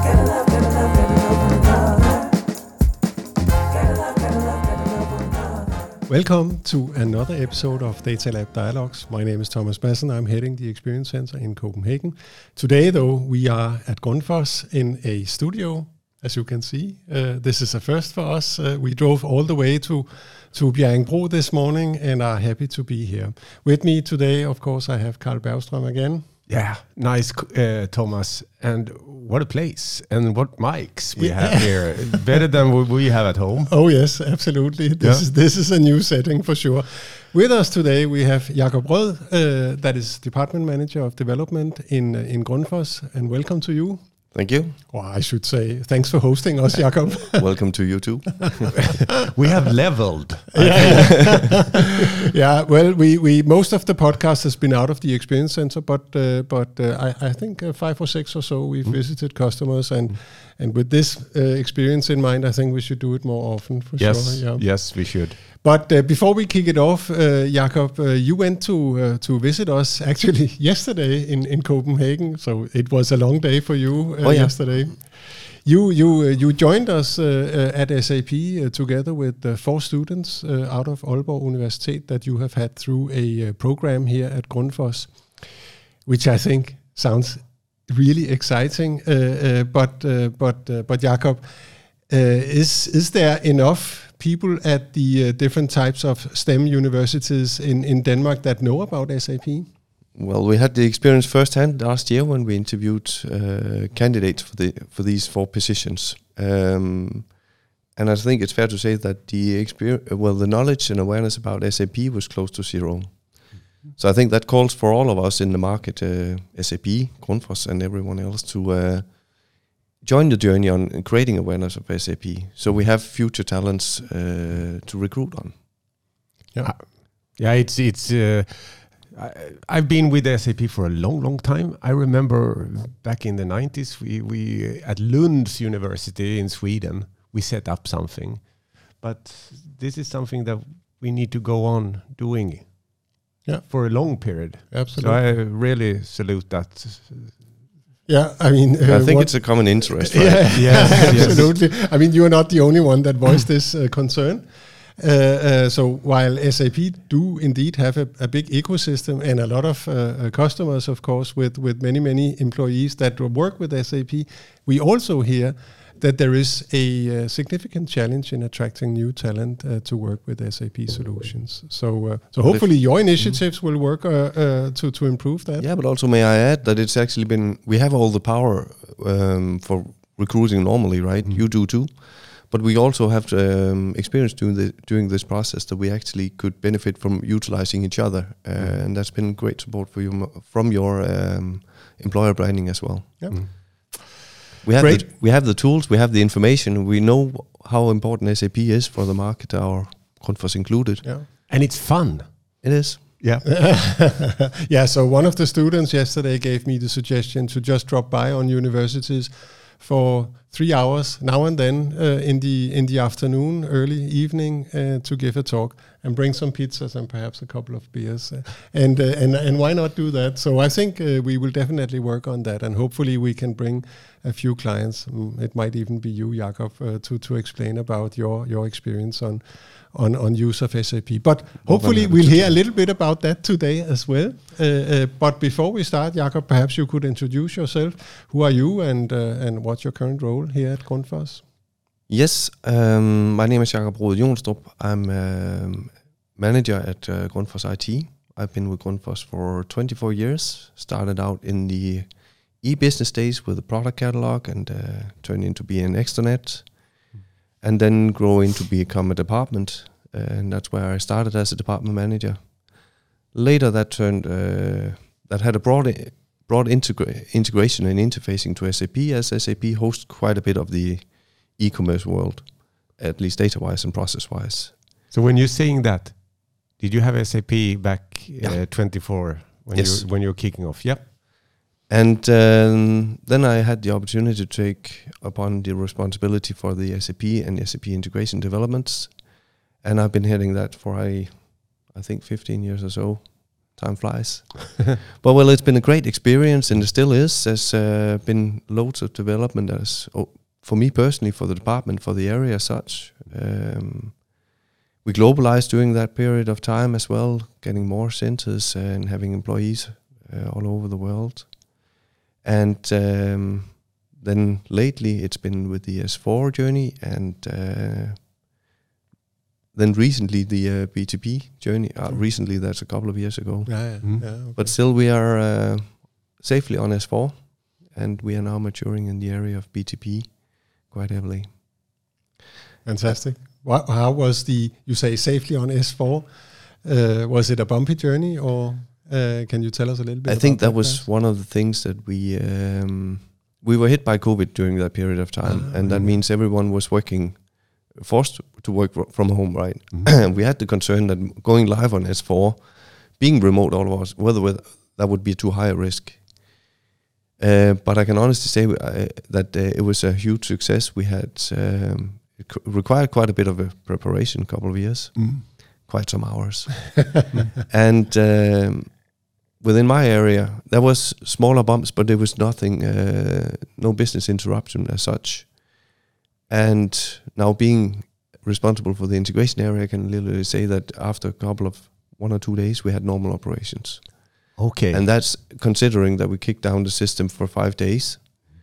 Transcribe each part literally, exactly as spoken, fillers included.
Welcome to another episode of Data Lab Dialogues. My name is Thomas Madsen. I'm heading the Experience Center in Copenhagen. Today, though, we are at Grundfos in a studio, as you can see. Uh, this is a first for us. Uh, we drove all the way to, to Bjerringbro this morning and are happy to be here. With me today, of course, I have Carl Bergström again. Yeah, nice, uh, Thomas. And what a place and what mics we have here. Better than what we have at home. Oh, yes, absolutely. This, yeah. is, this is a new setting for sure. With us today, we have Jakob Rød, uh, that is Department Manager of Development in, uh, in Grundfos. And welcome to you. Thank you. Well, I should say thanks for hosting us, Jakob. Welcome to you too. We have leveled. Yeah, yeah. Well, we, we most of the podcast has been out of the Experience Center, but uh, but uh, I I think uh, five or six or so we've mm. visited customers, and mm. and with this uh, experience in mind, I think we should do it more often for yes, sure. Yeah. Yes, we should. But uh, before we kick it off, uh, Jakob, uh, you went to uh, to visit us actually yesterday in, in Copenhagen. So it was a long day for you uh, oh, yeah. yesterday. You you uh, you joined us uh, uh, at S A P uh, together with uh, four students uh, out of Aalborg Universitet that you have had through a uh, program here at Grundfos, which I think sounds really exciting. Uh, uh, but uh, but uh, but Jakob, uh, is is there enough people at the uh, different types of STEM universities in, in Denmark that know about S A P? Well, we had the experience firsthand last year when we interviewed uh, candidates for the for these four positions, um, and I think it's fair to say that the experience, well, the knowledge and awareness about S A P was close to zero. Mm-hmm. So I think that calls for all of us in the market, uh, S A P, Grundfos, and everyone else to Uh, join the journey on creating awareness of S A P, so we have future talents uh, to recruit on. Yeah, yeah. It's it's. Uh, I, I've been with S A P for a long, long time. I remember back in the nineties, we we at Lunds University in Sweden, we set up something, but this is something that we need to go on doing. Yeah, for a long period. Absolutely. So I really salute that. Yeah, I mean, uh, I think it's a common interest, right? Yeah, yeah, absolutely. I mean, you're not the only one that voiced this uh, concern. Uh, uh, so while S A P do indeed have a, a big ecosystem and a lot of uh, uh, customers, of course, with with many many employees that work with S A P, we also hear that there is a uh, significant challenge in attracting new talent uh, to work with S A P solutions. So, uh, so hopefully your initiatives mm-hmm. will work uh, uh, to to improve that. Yeah, but also may I add that it's actually been, we have all the power um, for recruiting normally, right? Mm-hmm. You do too, but we also have um, experience during the during this process that we actually could benefit from utilizing each other, uh, mm-hmm. and that's been great support for you from your um, employer branding as well. Yeah. Mm-hmm. We have the, we have the tools, we have the information, we know how important S A P is for the market, our Grundfos included. Yeah. And it's fun. It is. Yeah. Yeah, so one of the students yesterday gave me the suggestion to just drop by on universities for three hours now and then uh, in the in the afternoon, early evening, uh, to give a talk and bring some pizzas and perhaps a couple of beers, uh, and uh, and and why not do that? So I think uh, we will definitely work on that, and hopefully we can bring a few clients. Um, it might even be you, Jakob, uh, to to explain about your your experience on. On, on use of S A P. But hopefully we'll hear a little bit about that today as well. Uh, uh, but before we start, Jakob, perhaps you could introduce yourself. Who are you, and uh, and what's your current role here at Grundfos? Yes, um, my name is Jakob Rød Jonstrup. I'm um, manager at uh, Grundfos I T. I've been with Grundfos for twenty-four years. Started out in the e-business days with a product catalog and uh, turned into being an extranet. And then grow into become a department, uh, and that's where I started as a department manager. Later, that turned uh, that had a broad broad integra- integration and interfacing to S A P, as S A P hosts quite a bit of the e-commerce world, at least data-wise and process-wise. So when you're saying that, did you have S A P back yeah. uh, twenty-four when yes. you when you're kicking off? Yep. And um, then I had the opportunity to take upon the responsibility for the S A P and S A P integration developments, and I've been heading that for I, I think fifteen years or so. Time flies. But well, it's been a great experience, and it still is. There's uh, been loads of development as oh, for me personally, for the department, for the area as such. Um, we globalized during that period of time as well, getting more centers and having employees uh, all over the world. And um, then lately it's been with the S four journey, and uh, then recently the uh, B two B journey. Uh, recently, that's a couple of years ago. Yeah, yeah, Mm. yeah, okay. But still we are uh, safely on S four, and we are now maturing in the area of B two B quite heavily. Fantastic. What, how was the, you say safely on S four, uh, was it a bumpy journey, or uh, can you tell us a little bit I about think that that was guys? one of the things that we um, we were hit by COVID during that period of time, Ah. and that means everyone was working, forced to work fr- from home, right? Mhm. We had the concern that going live on S four, being remote all of us, whether with, that would be too high a risk. Uh, but I can honestly say uh, that uh, it was a huge success. We had um, it c- required quite a bit of a preparation, a couple of years, Mm. quite some hours, and um, within my area there was smaller bumps, but there was nothing, uh, no business interruption as such. And now being responsible for the integration area, I can literally say that after a couple of one or two days, we had normal operations. Okay. And that's considering that we kicked down the system for five days,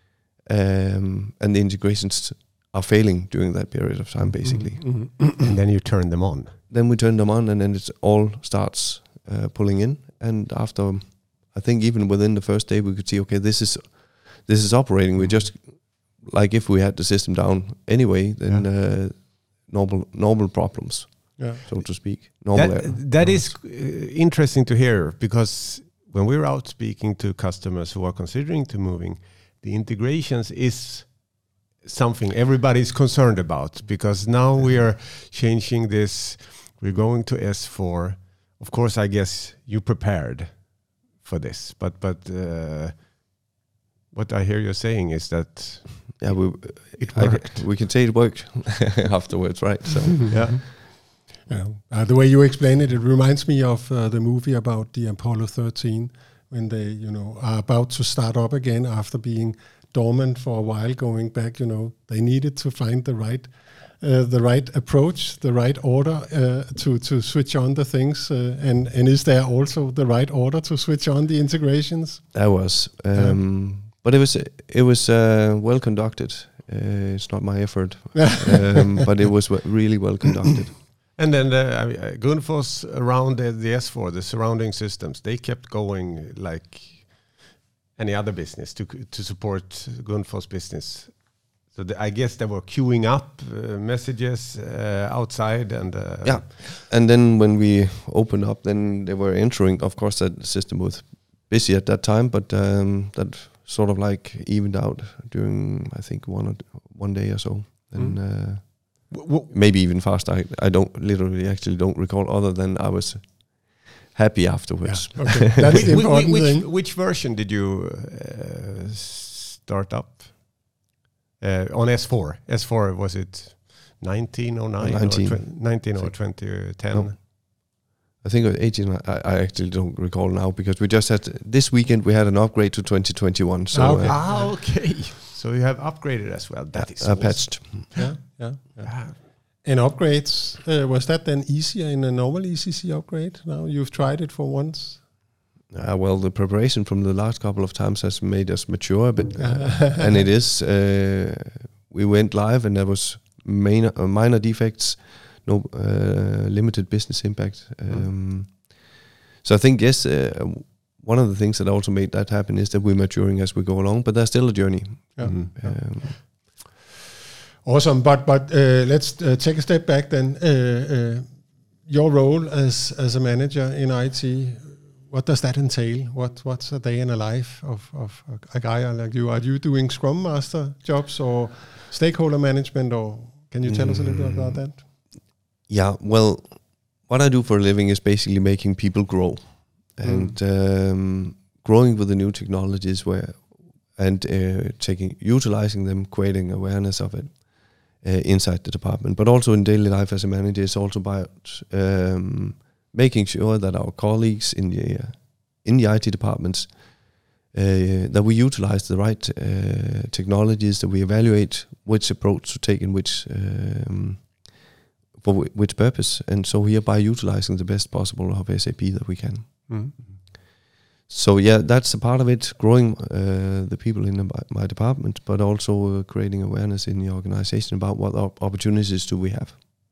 um, and the integrations are failing during that period of time, basically. Mhm. and then you turn them on. Then we turn them on, and then it all starts uh, pulling in. And after, I think even within the first day, we could see, okay, this is this is operating. We just, like if we had the system down anyway, then uh, normal normal problems, Yeah. so to speak. Normal. That, error. that is uh, interesting to hear, because when we're out speaking to customers who are considering to moving, the integrations is something everybody's concerned about, because now we are changing this. We're going to S four. Of course, I guess you prepared for this, but but uh, what I hear you saying is that Yeah, we it I worked. get- we can say it worked afterwards, right? So Yeah. Yeah. Uh, the way you explain it, it reminds me of uh, the movie about the Apollo thirteen, when they, you know, are about to start up again after being dormant for a while, going back. You know, they needed to find the right, uh, the right approach, the right order uh, to to switch on the things. Uh, and and is there also the right order to switch on the integrations? that was, um, but it was it was uh, well conducted. Uh, it's not my effort, um, but it was w- really well conducted. And then the, I mean, uh, Grundfos around the, the S four, the surrounding systems, they kept going like any other business to to support Grundfos business. So the, I guess they were queuing up uh, messages uh, outside, and uh, Yeah, and then when we opened up, then they were entering. Of course, that system was busy at that time, but um, that sort of like evened out during, I think, one or one day or so. And Mm. uh, w- w- maybe even faster. I, I don't literally actually don't recall, other than I was happy afterwards. Yeah. Okay, that's the whi- whi- important which, thing. which version did you uh, start up uh, on S four? S four, was it nineteen oh nine nineteen. or tw- nineteen or twenty ten? No. I think it was eighteen. I, I actually don't recall now, because we just had this weekend we had an upgrade to twenty twenty-one. So Ah, okay. uh, Ah, okay. So you have upgraded as well. That is uh, awesome. patched. Yeah, yeah. yeah. Ah, And upgrades, uh, was that then easier in a normal E C C upgrade? Now you've tried it for once. Uh, well, the preparation from the last couple of times has made us mature a bit, uh, and it is. Uh, we went live, and there was minor, uh, minor defects, no uh, limited business impact. Um, so I think yes, uh, one of the things that also made that happen is that we're maturing as we go along, but there's still a journey. Yeah. mhm. Um, Awesome, but but uh, let's uh, take a step back then. Uh, uh, your role as as a manager in I T, what does that entail? What what's a day in a life of of a guy like you? Are you doing Scrum Master jobs or stakeholder management, or can you tell us a little bit about that? Yeah, well, what I do for a living is basically making people grow, and um, growing with the new technologies, where and uh, taking utilizing them, creating awareness of it uh, inside the department, but also in daily life as a manager. It's also about um, making sure that our colleagues in the uh, in the I T departments uh, that we utilize the right uh, technologies, that we evaluate which approach to take in which um, for w- which purpose, and so hereby utilizing the best possible of S A P that we can. Mm-hmm. So yeah, that's a part of it, growing uh, the people in the, my department, but also uh, creating awareness in the organization about what op- opportunities do we have.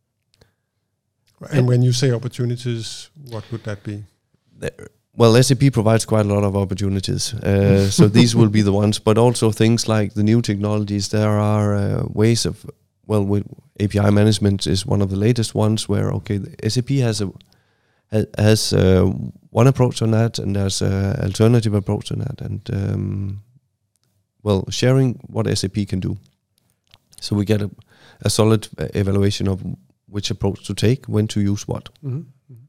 And when you say opportunities, what would that be? There, well, S A P provides quite a lot of opportunities. Uh, so these will be the ones, but also things like the new technologies. There are uh, ways of, well, with A P I management is one of the latest ones where, okay, the S A P has a has uh, one approach on that, and there's an alternative approach on that, and um, well, sharing what S A P can do, so we get a, a solid evaluation of which approach to take, when to use what. Mm-hmm.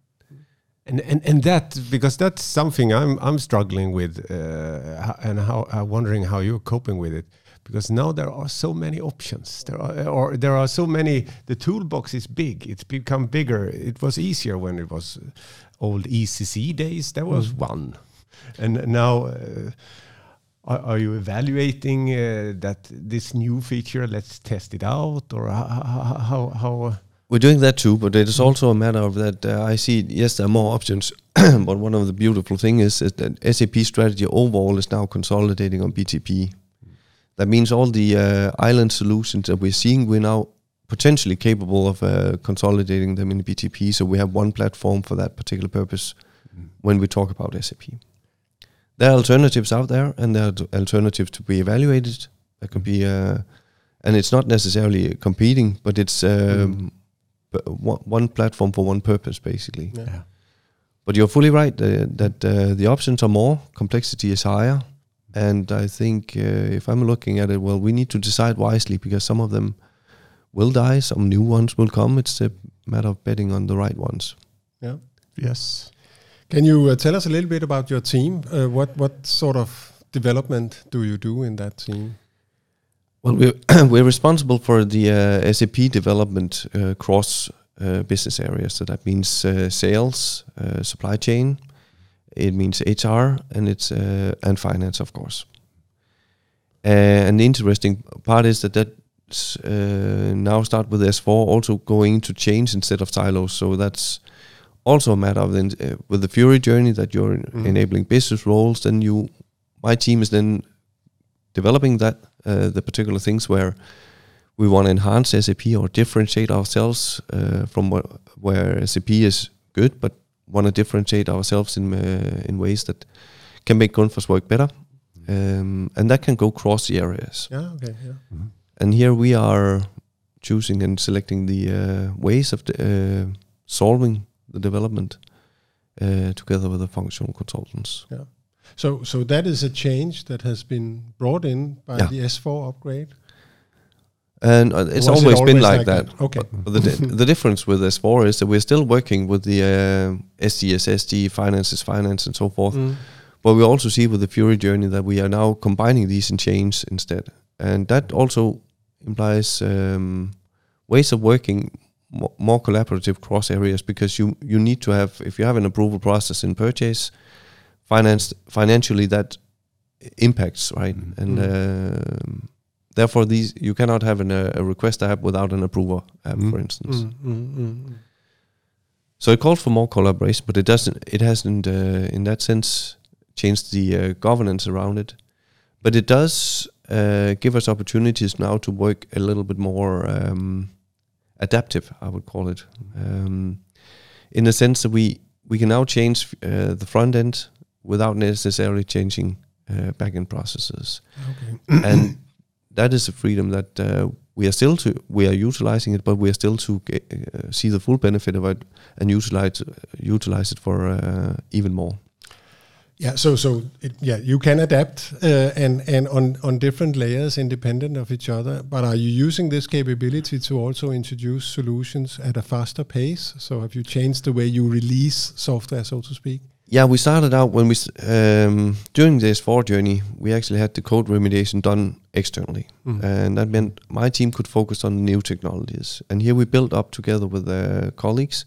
And and and that, because that's something I'm I'm struggling with, uh, and how I'm wondering how you're coping with it. Because now there are so many options. There are, or there are so many. The toolbox is big. It's become bigger. It was easier when it was old E C C days. There was mm. one, and now uh, are, are you evaluating uh, that this new feature? Let's test it out, or how how. how uh, We're doing that too, but it is also a matter of that uh, I see, yes, there are more options, but one of the beautiful things is, is that S A P strategy overall is now consolidating on B T P. That means all the uh, island solutions that we're seeing, we're now potentially capable of uh, consolidating them in B T P, so we have one platform for that particular purpose mm. when we talk about S A P. There are alternatives out there, and there are alternatives to be evaluated. There could be, uh, and it's not necessarily competing, but it's um, mm. one platform for one purpose, basically. Yeah. But you're fully right uh, that uh, the options are more, complexity is higher. And I think uh, if I'm looking at it, well, we need to decide wisely, because some of them will die, some new ones will come. It's a matter of betting on the right ones. Yeah. Yes. Can you uh, tell us a little bit about your team? Uh, what what sort of development do you do in that team? Well, we're we're responsible for the uh, S A P development uh, cross uh, business areas. So that means uh, sales, uh, supply chain. It means H R, and it's uh, and finance, of course. Uh, and the interesting part is that that uh, now start with S four also going to change instead of silos. So that's also a matter of then uh, with the Fury journey that you're mm. enabling business roles. Then you, my team is then developing that uh, the particular things where we want to enhance S A P or differentiate ourselves uh, from wh- where S A P is good, but want to differentiate ourselves in uh, in ways that can make Grundfos work better, um, and that can go cross the areas. Yeah, okay, yeah. Mm-hmm. And here we are choosing and selecting the uh, ways of the, uh, solving the development uh, together with the functional consultants. Yeah. So, so that is a change that has been brought in by yeah. the S four upgrade. And uh, it's always, it always been like, like that. that. Okay. But the di- the difference with S four is that we're still working with the uh, S D, S S D, finance is finance, and so forth. Mm. But we also see with the Fury journey that we are now combining these in chains instead, and that also implies um, ways of working mo- more collaborative cross areas, because you you need to have, if you have an approval process in purchase, finance financially that impacts, right, mm. and. Uh, Therefore, these you cannot have an, uh, a request app without an approver app, mm. for instance. Mm, mm, mm. So it calls for more collaboration, but it doesn't. It hasn't, uh, in that sense, changed the uh, governance around it. But it does uh, give us opportunities now to work a little bit more um, adaptive, I would call it, um, in the sense that we we can now change uh, the front end without necessarily changing uh, back end processes, okay. and that is a freedom that uh, we are still to we are utilizing it, but we are still to get, uh, see the full benefit of it and utilize uh, utilize it for uh, even more. Yeah, so so it, yeah, you can adapt uh, and and on on different layers independent of each other. But are you using this capability to also introduce solutions at a faster pace? So have you changed the way you release software, so to speak? Yeah, we started out when we um, during the S four journey, we actually had the code remediation done externally, mm. and that meant my team could focus on new technologies. And here we built up together with uh, colleagues.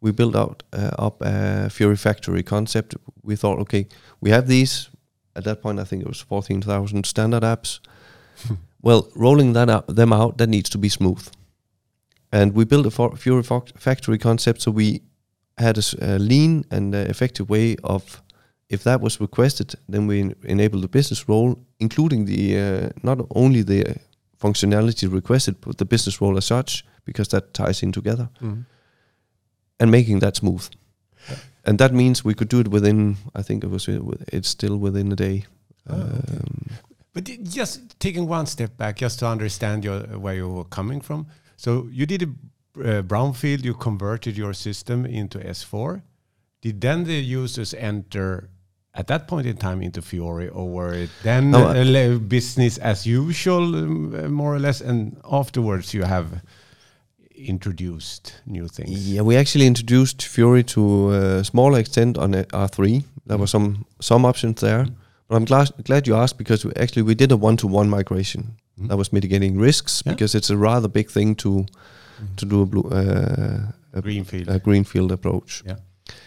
we built out uh, up a Fiori factory concept. We thought, okay, we have these. At that point, I think it was fourteen thousand standard apps. Well, rolling that out, them out, that needs to be smooth. And we built a for- Fiori fo- factory concept, so we had a, a lean and uh, effective way of, if that was requested, then we en- enable the business role, including the uh, not only the uh, functionality requested, but the business role as such, because that ties in together, Mm. and making that smooth. Yeah. And that means we could do it within, I think it was, it's still within a day. Oh, okay. um, but just taking one step back, just to understand your, where you were coming from. So you did a uh, brownfield, you converted your system into S four. Did then the users enter at that point in time into Fiori, or were it then no, uh, business as usual, um, more or less, and afterwards you have introduced new things? Yeah, we actually introduced Fiori to a smaller extent on R three. There were some some options there. Mm. But I'm glad, glad you asked, because we actually we did a one-to-one migration. Mm. That was mitigating risks, yeah. because it's a rather big thing to mm. to do a, blue, uh, a greenfield a greenfield approach. Yeah.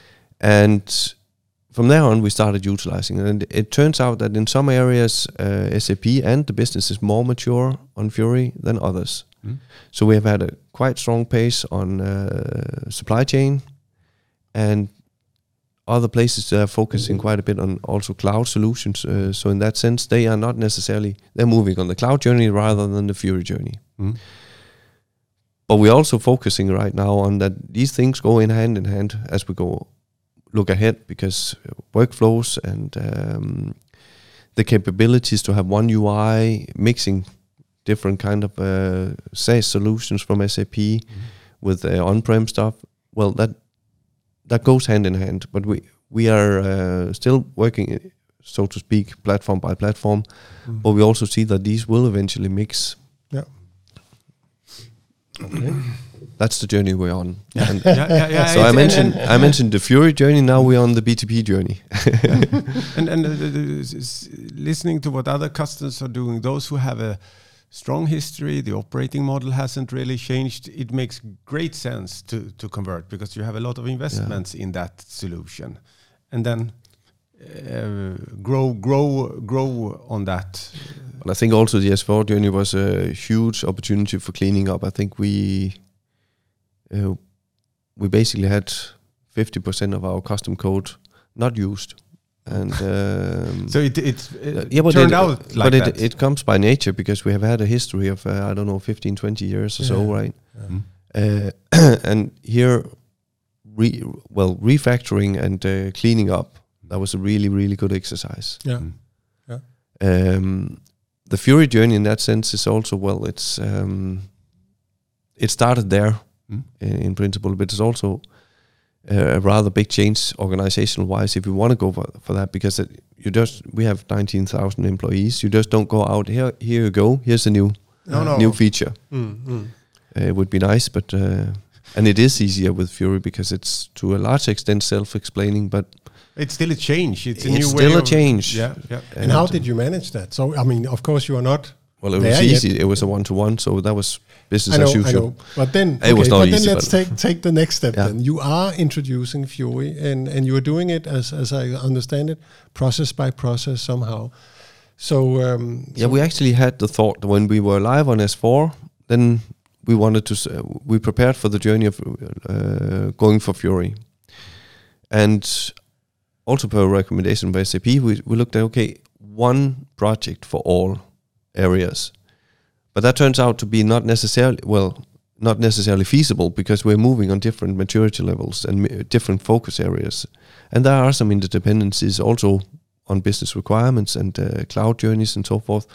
And from there on, we started utilizing it. And it turns out that in some areas, uh, S A P and the business is more mature on Fiori than others. Mm. So we have had a quite strong pace on uh, supply chain, and other places that are focusing quite a bit on also cloud solutions. Uh, so in that sense, they are not necessarily, they're moving on the cloud journey rather than the Fiori journey. Mm. But we're also focusing right now on that these things go in hand in hand as we go look ahead, because workflows and um, the capabilities to have one U I, mixing different kind of uh, SaaS solutions from S A P mm. with uh, on-prem stuff, well, that that goes hand in hand. But we we are uh, still working, so to speak, platform by platform. Mm. But we also see that these will eventually mix. Yeah. Okay. That's the journey we're on. Yeah. And yeah, yeah, yeah, so I mentioned and, and I mentioned the Fiori journey. Now we're on the B two B journey. and and uh, listening to what other customers are doing, those who have a strong history, the operating model hasn't really changed. It makes great sense to to convert, because you have a lot of investments yeah. in that solution, and then uh, grow, grow, grow on that. And I think also the S four journey was a huge opportunity for cleaning up. I think we uh, we basically had fifty percent of our custom code not used. And um, so it it, it uh, yeah, but turned it, out like but that. But it, it comes by nature, because we have had a history of uh, I don't know fifteen, twenty years or yeah. so, right? Yeah. Uh, and here, re, well, refactoring and uh, cleaning up, that was a really really good exercise. Yeah, mm. yeah. Um, the Fiori journey in that sense is also, well, it's um, it started there mm. in, in principle, but it's also a rather big change organizational-wise if you want to go for, for that, because it, you just we have nineteen thousand employees. You just don't go out here. Here you go. Here's a new no, no. new feature. Mm, mm. Uh, it would be nice, but uh, and it is easier with Fiori because it's to a large extent self-explaining. But it's still a change. It's a it's new still way a of change. Yeah, yeah. And, and how did you manage that? So I mean, of course, you are not. Well, it was easy. Yet. It was a one-to-one, so that was business I know, as usual. I know. But then, it okay, was not but easy, then let's take take the next step. Yeah. Then you are introducing Fiori, and and you are doing it as as I understand it, process by process somehow. So um, yeah, so we actually had the thought that when we were live on S four, then we wanted to uh, we prepared for the journey of uh, going for Fiori, and also per recommendation by S A P, we we looked at okay, one project for all areas. But that turns out to be not necessarily, well, not necessarily feasible, because we're moving on different maturity levels and m- different focus areas. And there are some interdependencies also on business requirements and uh, cloud journeys and so forth.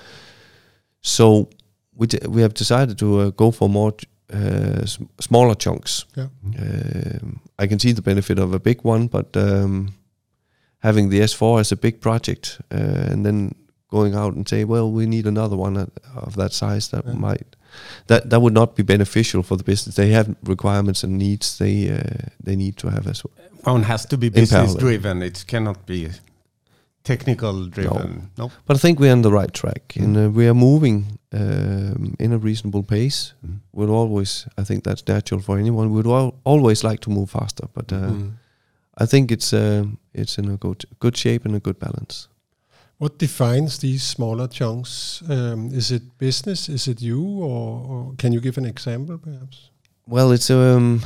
So we d- we have decided to uh, go for more uh, s- smaller chunks. Yeah. Um, I can see the benefit of a big one, but um, having the S four as a big project uh, and then going out and say, well, we need another one of that size, that yeah. might that that would not be beneficial for the business. They have requirements and needs they uh, they need to have as well. One has to be business driven. It cannot be technical driven. No. No. But I think we're on the right track, mm. and uh, we are moving um, in a reasonable pace. Mm. We'll always, I think that's natural for anyone. We'd al- always like to move faster, but uh, mm. I think it's uh, it's in a good good shape and a good balance. What defines these smaller chunks? Um, is it business? Is it you? Or, or can you give an example, perhaps? Well, it's um,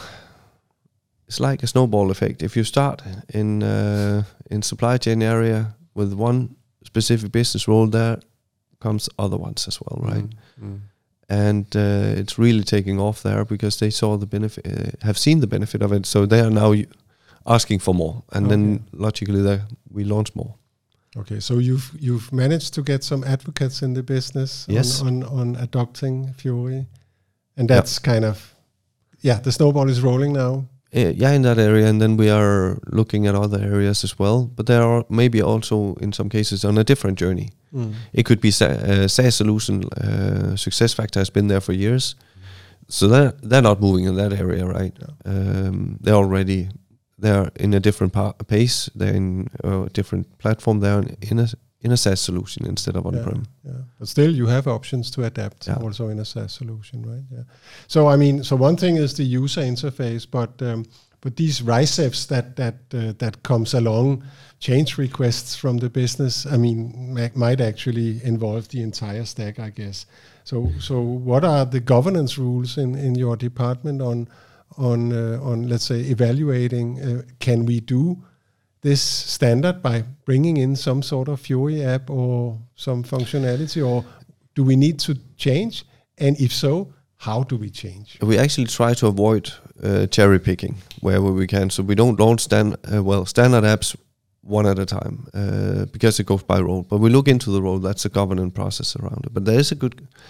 it's like a snowball effect. If you start in uh, in supply chain area with one specific business role, there comes other ones as well, right? Mm. Mm. And uh, it's really taking off there because they saw the benefit, uh, have seen the benefit of it. So they are now asking for more, and okay. then logically, there we launch more. Okay, so you've you've managed to get some advocates in the business yes. on, on, on adopting Fury, and that's yep. kind of yeah, the snowball is rolling now. Uh, yeah, in that area, and then we are looking at other areas as well. But there are maybe also in some cases on a different journey. Mm. It could be a SaaS solution. Uh, SuccessFactors has been there for years, so they're they're not moving in that area, right? Yeah. Um, they're already. They're in a different pa- pace. They're in a different platform. They're in a in a SaaS solution instead of on-prem. Yeah, yeah. But still, you have options to adapt yeah. also in a SaaS solution, right? Yeah. So I mean, so one thing is the user interface, but um, but these RISEFs that that uh, that comes along, change requests from the business. I mean, ma- might actually involve the entire stack, I guess. So so what are the governance rules in in your department on on uh, on let's say evaluating uh, can we do this standard by bringing in some sort of Fury app or some functionality, or do we need to change, and if so, how do we change? We actually try to avoid uh, cherry picking wherever we can, so we don't launch stand uh, well standard apps one at a time uh, because it goes by role, but we look into the role. That's a governance process around it. But there is a good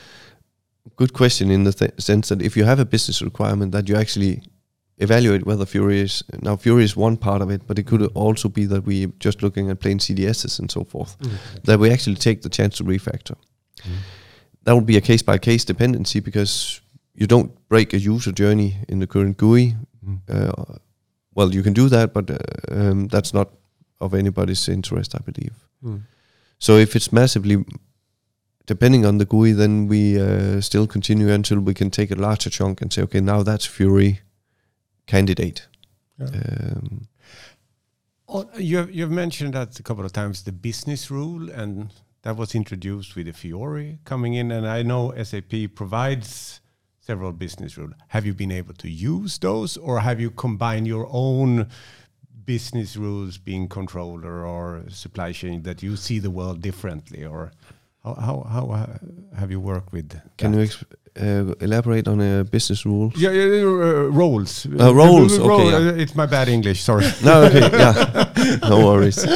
good question in the th- sense that if you have a business requirement, that you actually evaluate whether Fury is, now Fury is one part of it, but it could also be that we just looking at plain C D Ss and so forth, mm, okay. that we actually take the chance to refactor. Mm. That would be a case by case dependency because you don't break a user journey in the current G U I. Mm. Uh, well, you can do that, but uh, um, that's not of anybody's interest, I believe. Mm. So if it's massively depending on the G U I, then we uh, still continue until we can take a larger chunk and say, okay, now that's Fury candidate. Yeah. Um, oh, you have, you have mentioned that a couple of times, the business rule, and that was introduced with the Fiori coming in, and I know S A P provides several business rules. Have you been able to use those, or have you combined your own business rules, being controller or supply chain, that you see the world differently, or how how, how uh, have you worked with Can that? you exp- uh, elaborate on a business rule? Yeah, yeah uh, roles. Uh, roles, okay. Role, Yeah. uh, it's my bad English, sorry. No, okay, yeah. No worries.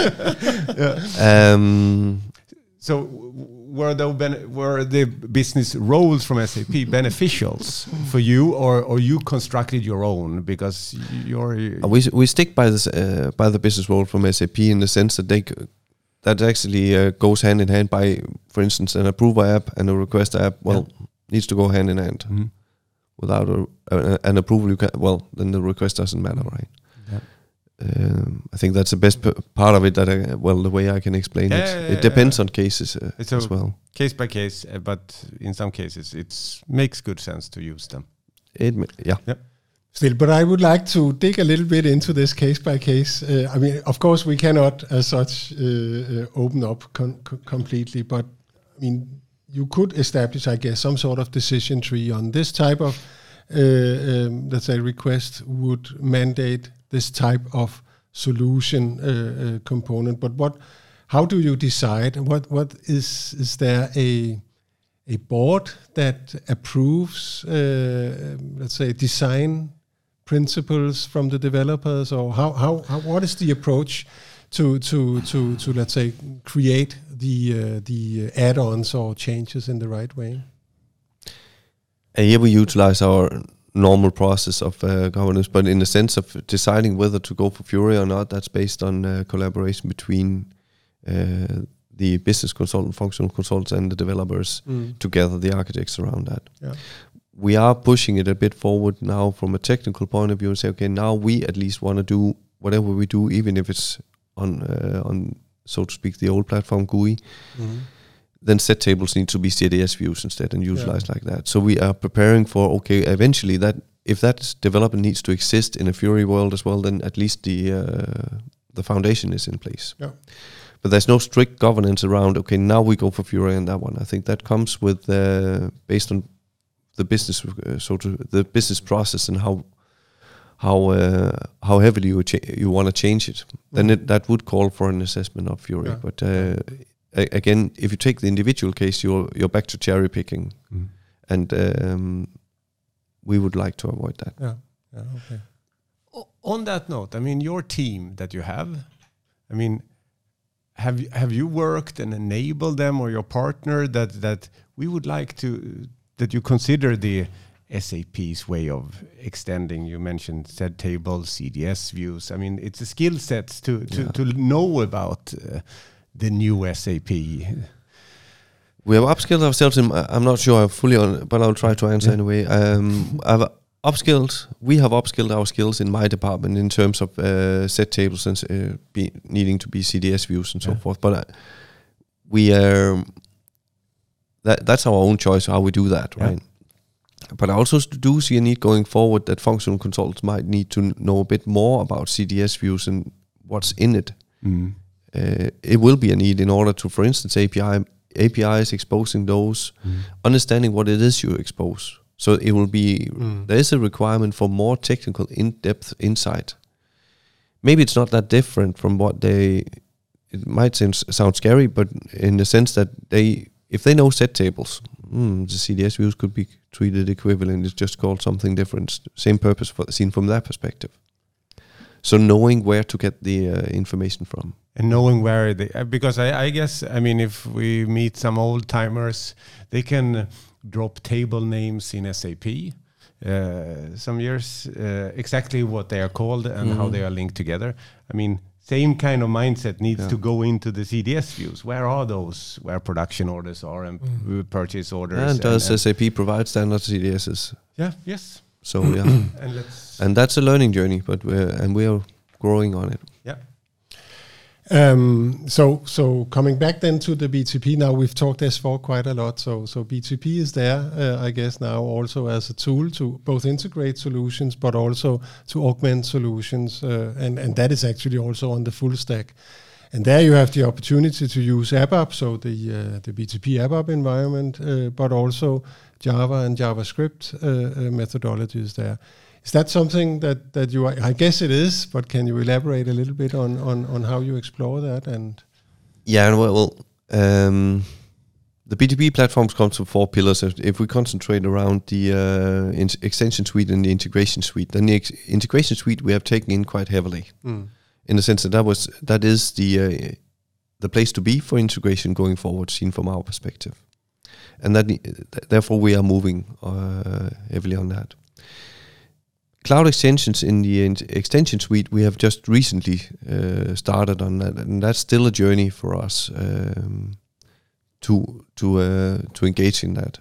Yeah. Um, so were the, ben- were the business roles from S A P beneficials for you, or, or you constructed your own because you're... We we stick by this uh, by the business role from S A P in the sense that they c- that actually uh, goes hand in hand by, for instance, an approver app and a request app. Well, yeah. needs to go hand in hand. Mm-hmm. Without a, a, an approval, you can, well, then the request doesn't matter, right? Yeah. Um, I think that's the best p- part of it. That I, well, the way I can explain yeah, it, yeah, it depends yeah. on cases uh, it's as well. Case by case, uh, but in some cases, it makes good sense to use them. It, yeah. Yep. Still, but I would like to dig a little bit into this case by case. Uh, I mean, of course, we cannot, as such, uh, uh, open up con- co- completely. But I mean, you could establish, I guess, some sort of decision tree on this type of, uh, um, let's say, request would mandate this type of solution uh, uh, component. But what? How do you decide? What? What is? Is there a a board that approves, uh, let's say, design principles from the developers, or how, how, how what is the approach to to to to let's say create the uh, the add-ons or changes in the right way? Uh, here we utilize our normal process of uh, governance, but in the sense of deciding whether to go for Fury or not, that's based on uh, collaboration between uh, the business consultant, functional consultants, and the developers mm. together, the architects around that. Yeah. We are pushing it a bit forward now from a technical point of view and say, okay, now we at least want to do whatever we do, even if it's on uh, on so to speak, the old platform G U I, mm-hmm. then set tables need to be C D S views instead and utilized yeah. like that. So we are preparing for, okay, eventually that if that development needs to exist in a Fiori world as well, then at least the uh, the foundation is in place. Yeah. But there's no strict governance around, okay, now we go for Fiori and that one. I think that comes with, uh, based on the business, uh, so to the business process and how how uh, how heavily you cha- you want to change it. Mm. Then it, that would call for an assessment of Fiori. Yeah. But uh, a- again, if you take the individual case, you're you're back to cherry picking, mm. and um, we would like to avoid that. Yeah. Yeah. Okay. O- on that note, I mean, your team that you have, I mean, have you, have you worked and enabled them or your partner that that we would like to that you consider the S A P's way of extending? You mentioned set tables, C D S views. I mean, it's a skill set to to, yeah. to know about uh, the new S A P. We have upskilled ourselves in, I'm not sure I'm fully on, but I'll try to answer yeah. anyway. Um, I've upskilled, we have upskilled our skills in my department in terms of uh, set tables and uh, be needing to be C D S views and yeah. so forth. But uh, we are, that that's our own choice how we do that, yeah. right? But I also do see a need going forward that functional consultants might need to know a bit more about C D S views and what's in it. Mm. Uh, it will be a need in order to, for instance, A P I A P Is, exposing those, mm. understanding what it is you expose. So it will be, mm. there is a requirement for more technical, in-depth insight. Maybe it's not that different from what they, it might sound, sound scary, but in the sense that they, if they know set tables, mm, the C D S views could be treated equivalent. It's just called something different. Same purpose for, seen from that perspective. So knowing where to get the uh, information from. And knowing where they, uh, because I, I guess, I mean, if we meet some old timers, they can uh, drop table names in S A P, uh, some years, uh, exactly what they are called and mm-hmm. how they are linked together. I mean, same kind of mindset needs yeah. to go into the C D S views. Where are those? Where production orders are and mm. purchase orders. And does and, S A P provide standard C D Ss? Yeah, yes. So yeah, and, let's and that's a learning journey, but we're, and we are growing on it. Yeah. Um, so so coming back then to the B T P, now we've talked S four quite a lot. So so B T P is there, uh, I guess now also as a tool to both integrate solutions, but also to augment solutions, uh, and and that is actually also on the full stack. And there you have the opportunity to use ABAP, so the uh, the B T P ABAP environment, uh, but also Java and JavaScript uh, uh, methodologies there. Is that something that, that you are, I guess it is, but can you elaborate a little bit on, on, on how you explore that? And yeah, well, well um, the B T P platforms comes from four pillars. If we concentrate around the uh, in- extension suite and the integration suite, then the ex- integration suite we have taken in quite heavily, mm. in the sense that that was that is the uh, the place to be for integration going forward, seen from our perspective. And that, therefore, we are moving uh, heavily on that. Cloud extensions in the in- extension suite, we have just recently uh, started on that, and that's still a journey for us um, to to uh, to engage in that.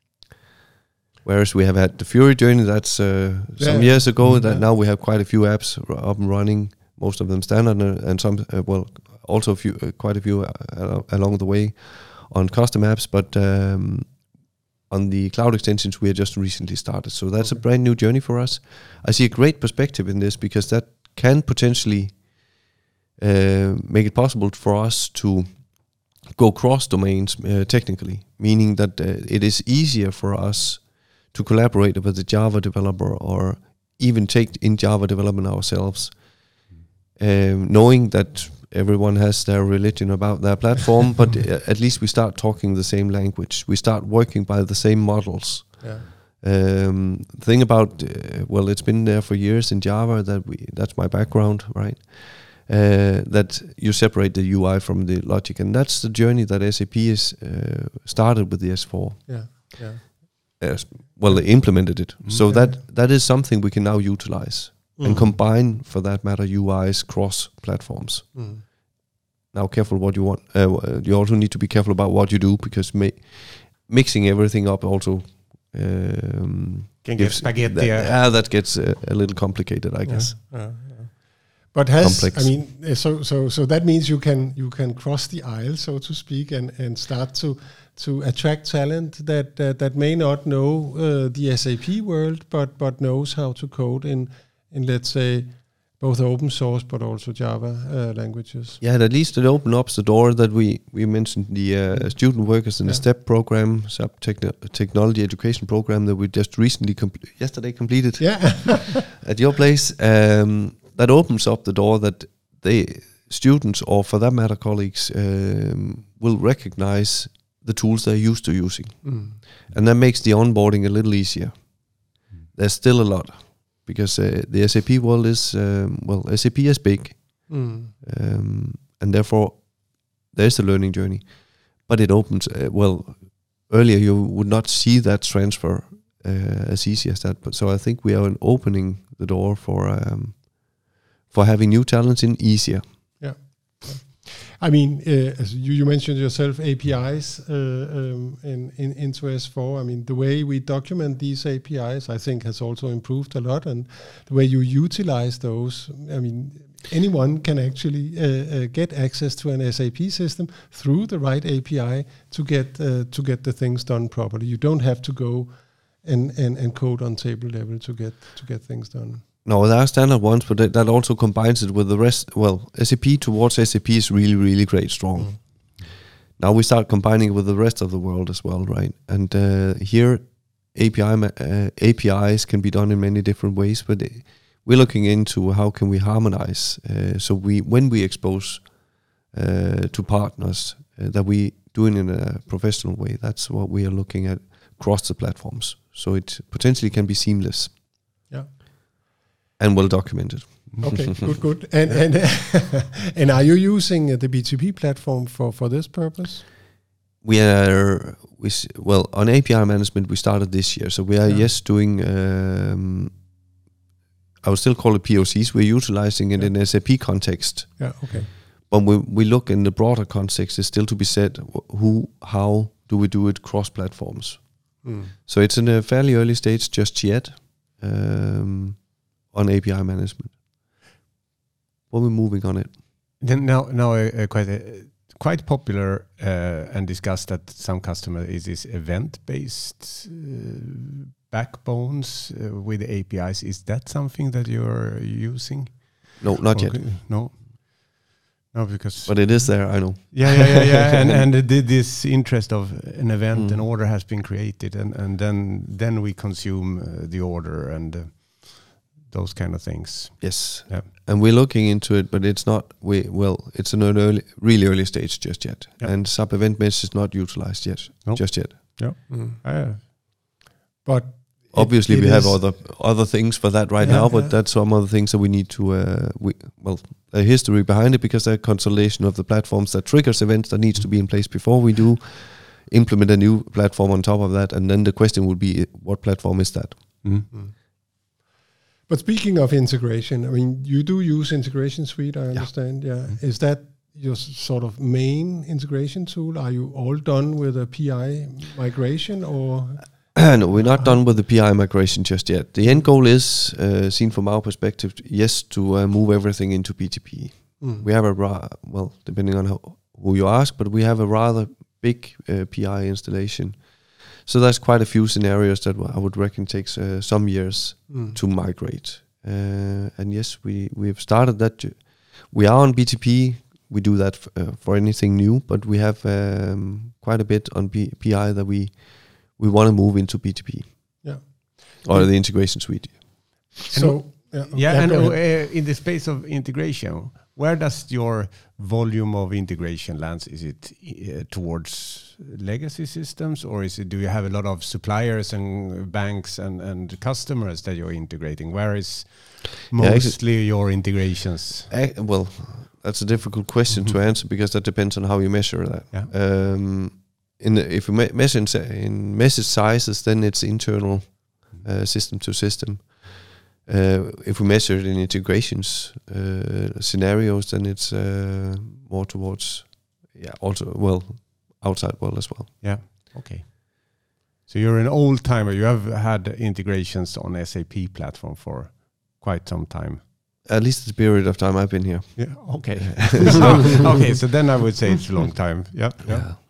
Whereas we have had the Fiori journey, that's uh, some yeah. years ago. Mm-hmm. That now we have quite a few apps up and running, most of them standard, and some uh, well, also a few, uh, quite a few uh, along the way on custom apps, but um, on the cloud extensions we have just recently started. So that's okay. a brand new journey for us. I see a great perspective in this because that can potentially uh, make it possible for us to go cross domains uh, technically, meaning that uh, it is easier for us to collaborate with the Java developer or even take in Java development ourselves, um, knowing that everyone has their religion about their platform, but uh, at least we start talking the same language. We start working by the same models. Yeah. Um, the thing about, uh, well, it's been there for years in Java, that we that's my background, right? Uh, that you separate the U I from the logic. And that's the journey that S A P has uh, started with the S four. Yeah, yeah. Uh, well, they implemented it. Mm-hmm. So that that is something we can now utilize. Mm. And combine, for that matter, U Is cross platforms. Mm. Now, careful what you want. Uh, you also need to be careful about what you do, because ma- mixing everything up also um, can get spaghetti. That, yeah, that gets uh, a little complicated, I guess. Yeah, yeah, yeah. but has complex. I mean, uh, so so so that means you can you can cross the aisle, so so so so so that means you can you can cross the aisle, so to speak, and and start to to attract talent that uh, that may not know uh, the S A P world, but but knows how to code in in let's say both open source but also Java uh, languages. Yeah, at least it opened up the door that we we mentioned the uh, student workers in Yeah. the STEP program, SAP techno- technology education program that we just recently compl- yesterday completed Yeah. at your place. Um, that opens up the door that they students, or for that matter colleagues, um, will recognize the tools they're used to using, Mm. and that makes the onboarding a little easier. There's still a lot because uh, the S A P world is um, well, S A P is big. Mm. Um, and therefore there's a learning journey, but it opens uh, well earlier you would not see that transfer uh, as easy as that, but so I think we are opening the door for um, for having new talents in easier. I mean, uh, as you, you mentioned yourself, A P Is uh, um, in, in into S four. I mean, the way we document these A P Is, I think, has also improved a lot, and the way you utilize those. I mean, anyone can actually uh, uh, get access to an S A P system through the right A P I to get uh, to get the things done properly. You don't have to go and, and, and code on table level to get to get things done. No, there are standard ones, but that, that also combines it with the rest. Well, S A P towards S A P is really, really great, strong. Mm. Now we start combining with the rest of the world as well, right? And uh, here, A P I uh, A P Is can be done in many different ways, but we're looking into how can we harmonize. Uh, so we, when we expose uh, to partners, uh, that we do it in a professional way. That's what we are looking at across the platforms. So it potentially can be seamless. Yeah. And well documented. Okay, good, good. And and and are you using uh, the B T P platform for, for this purpose? We are we s- well on A P I management. We started this year, so we are Yeah. yes doing. Um, I would still call it P O Cs. We're utilizing it Yeah. in S A P context, Yeah. Okay. but we we look in the broader context. It's still to be said. wh- Who, how do we do it cross platforms? Mm. So it's in a fairly early stage just yet. Um, on A P I management, but we're moving on it. Then now, now uh, uh, quite uh, quite popular uh, and discussed at some customer is this event-based uh, backbones uh, with A P Is. Is that something that you're using? No, not yet. Okay, no, no, because But it is there. I know. yeah, yeah, yeah, yeah, and and the, this interest of an event, Mm. an order has been created, and and then then we consume uh, the order and. Uh, those kind of things. Yes. Yeah. And we're looking into it, but it's not, we well, it's an early, really early stage just yet. Yeah. And sub event mesh is not utilized yet, Nope. just yet. Yeah. Mm. Uh, But Obviously, it we have is- other other things for that right Yeah, now, but yeah. that's some other things that we need to, uh, we well, a history behind it because there's a consolidation of the platforms that triggers events that needs to be in place before we do implement a new platform on top of that. And then the question would be, what platform is that? mm. Mm. But speaking of integration, I mean, you do use Integration Suite, I understand. Yeah. Mm-hmm. Is that your s- sort of main integration tool? Are you all done with a P I migration, or? No, we're not done with the P I migration just yet. The end goal is, uh, seen from our perspective, yes, to uh, move everything into B T P. Mm. We have a, ra- well, depending on how, who you ask, but we have a rather big uh, P I installation. So there's quite a few scenarios that I would reckon takes uh, some years Mm. to migrate. Uh, and yes, we, we've started that. ju- We are on B T P. We do that f- uh, for anything new, but we have um, quite a bit on P- P I that we we want to move into B T P. Yeah. Or the integration suite. So yeah, Yeah, and go uh, ahead. in the space of integration, where does your volume of integration lands? Is it uh, towards legacy systems, or is it? Do you have a lot of suppliers and banks and, and customers that you're integrating? Where is Yeah, actually- mostly your integrations? Uh, well, that's a difficult question to answer because that depends on how you measure that. Yeah. Um, in the, if you me- measure in, sa- in message sizes, then it's internal uh, system to system. Uh, if we measure it in integrations uh, scenarios, then it's uh, more towards, yeah, also well, outside world as well. Yeah. Okay. So you're an old timer. You have had integrations on S A P platform for quite some time. At least the period of time I've been here. Yeah. Okay. so, okay. So then I would say it's a long time. Yeah. Yeah. yeah.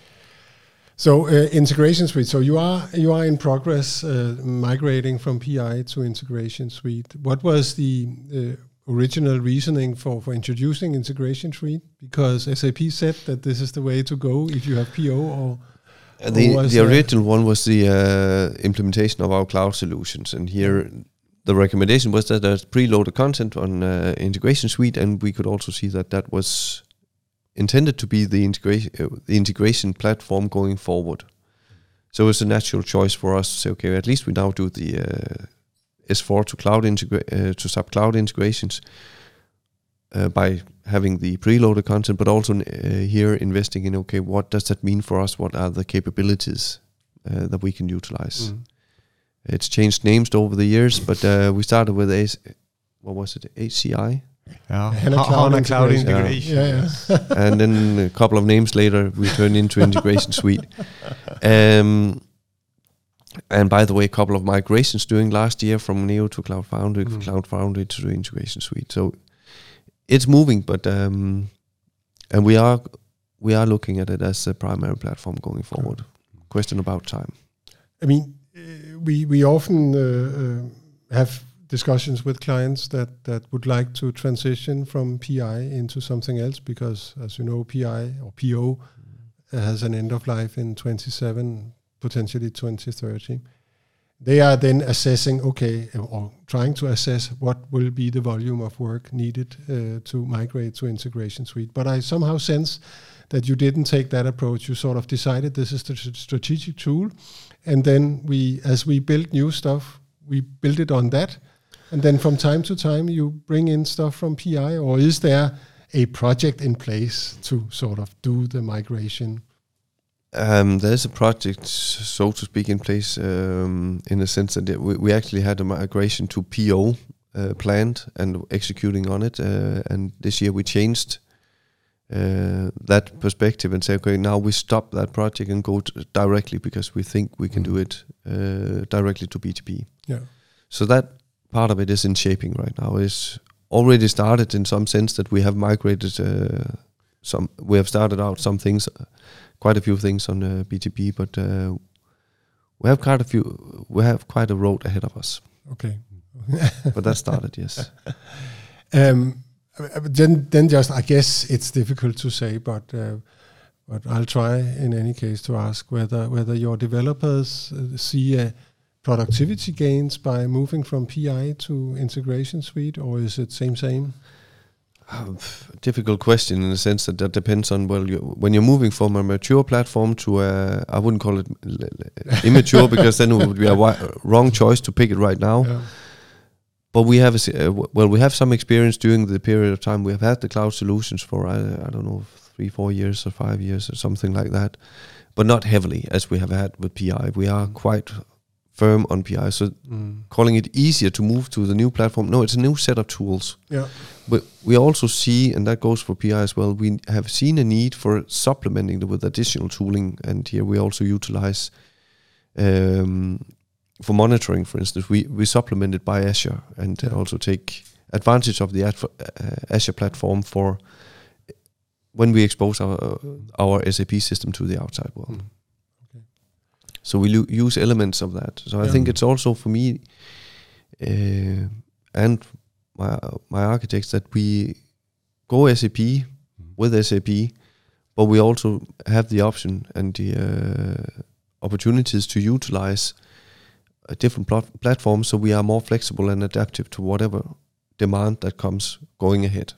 So uh, Integration Suite. So you are you are in progress uh, migrating from P I to Integration Suite. What was the uh, original reasoning for, for introducing Integration Suite? Because S A P said that this is the way to go if you have P O, or uh, the or the original one was the uh, implementation of our cloud solutions, and here the recommendation was that there's preloaded content on uh, Integration Suite, and we could also see that that was intended to be the integration uh, the integration platform going forward. So it's a natural choice for us to say, okay, at least we now do the uh, S four to cloud integra- uh, to sub cloud integrations uh, by having the preloaded content, but also uh, here investing in, okay, what does that mean for us? What are the capabilities uh, that we can utilize? Mm. It's changed names over the years, but uh, we started with a what was it H C I. Yeah, HANA Cloud, HANA Cloud Integration. Yeah. Yeah, yeah. And then a couple of names later, we turned into Integration Suite. Um, and by the way, a couple of migrations during last year from Neo to Cloud Foundry, mm. Cloud Foundry to the Integration Suite. So it's moving, but um, and we are we are looking at it as a primary platform going forward. Mm. Question about time. I mean, uh, we we often uh, uh, have discussions with clients that, that would like to transition from P I into something else, because, as you know, P I or P O mm. has an end of life in twenty-seven, potentially twenty thirty. They are then assessing, okay, or trying to assess what will be the volume of work needed uh, to migrate to Integration Suite. But I somehow sense that you didn't take that approach. You sort of decided this is the strategic tool, and then we, as we build new stuff, we build it on that. And then from time to time, you bring in stuff from P I, or is there a project in place to sort of do the migration? Um, there's a project, so to speak, in place um, in the sense that we, we actually had a migration to P O uh, planned and executing on it. Uh, and this year we changed uh, that perspective and say, okay, now we stop that project and go to directly, because we think we can do it uh, directly to B T P. Yeah. So that part of it is in shaping right now. It's already started in some sense that we have migrated uh, some. We have started out some things, uh, quite a few things on uh, B T P, but uh, we have quite a few. We have quite a road ahead of us. Okay, but that started, yes. Um, then, then just I guess it's difficult to say, but uh, but I'll try in any case to ask whether whether your developers uh, see a productivity gains by moving from P I to Integration Suite, or is it same same? Uh, difficult question in the sense that that depends on, well, you, when you're moving from a mature platform to a, I wouldn't call it immature because then it would be a wi- wrong choice to pick it right now. Yeah. But we have a, uh, well, we have some experience during the period of time we have had the cloud solutions for I, I don't know three, four years or five years or something like that, but not heavily as we have had with P I. We are quite firm on P I, so mm. calling it easier to move to the new platform. No, it's a new set of tools. Yeah. But we also see, and that goes for P I as well, we have seen a need for supplementing with additional tooling, and here we also utilize um, for monitoring, for instance, we, we supplement it by Azure and yeah. also take advantage of the uh, Azure platform for when we expose our, uh, our S A P system to the outside world. Mm. So we lo- use elements of that. So yeah. I think it's also for me uh, and my my architects that we go S A P mm. with S A P, but we also have the option and the uh, opportunities to utilize a different pl- platforms, so we are more flexible and adaptive to whatever demand that comes going ahead.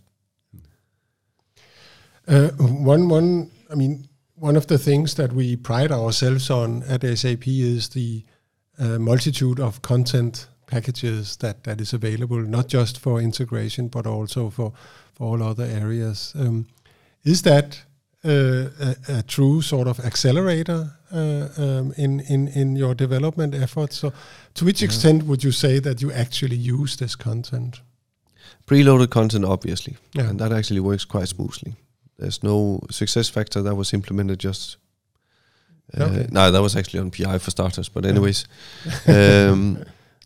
Uh, one one, I mean. One of the things that we pride ourselves on at S A P is the uh, multitude of content packages that, that is available, not just for integration, but also for, for all other areas. Um, is that uh, a, a true sort of accelerator uh, um, in, in, in your development efforts? So to which yeah. extent would you say that you actually use this content? Preloaded content, obviously, yeah. and that actually works quite smoothly. There's no success factor that was implemented just... Uh, okay. No, that was actually on P I for starters, but anyways. um,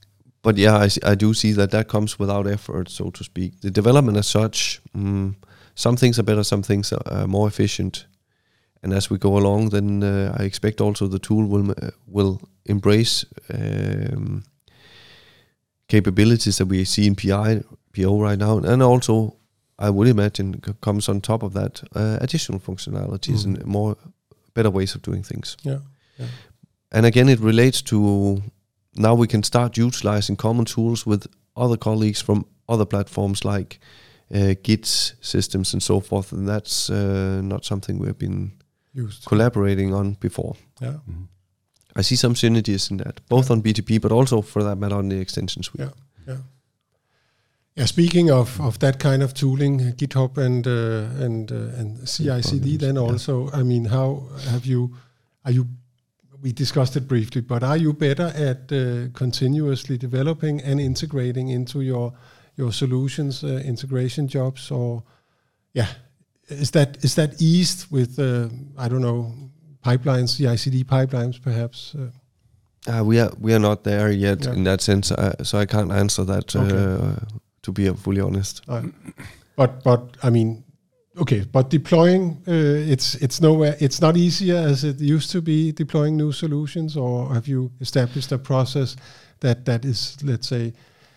but yeah, I, I do see that that comes without effort, so to speak. The development as such, mm, some things are better, some things are more efficient. And as we go along, then uh, I expect also the tool will uh, will embrace um, capabilities that we see in P I, P O right now, and also I would imagine comes on top of that uh, additional functionalities mm. and more better ways of doing things. Yeah. yeah. And again, it relates to now we can start utilizing common tools with other colleagues from other platforms like uh, Git systems and so forth, and that's uh, not something we've been used collaborating on before. Yeah. Mm-hmm. I see some synergies in that, both yeah. on B T P, but also for that matter on the extension suite. Yeah, yeah. Yeah. Speaking of, of that kind of tooling, GitHub and uh, and uh, and C I C D, then also, yeah. I mean, how have you? Are you? We discussed it briefly, but are you better at uh, continuously developing and integrating into your your solutions, uh, integration jobs, or yeah, is that is that eased with uh, I don't know pipelines, C I C D pipelines, perhaps? Uh, uh, we are we are not there yet yeah. in that sense, uh, so I can't answer that. Okay. Uh, to be fully honest, uh, but but I mean, okay, but deploying uh, it's it's nowhere. It's not easier as it used to be deploying new solutions, or have you established a process that that is, let's say,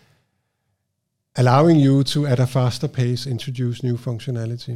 allowing you to at a faster pace introduce new functionality?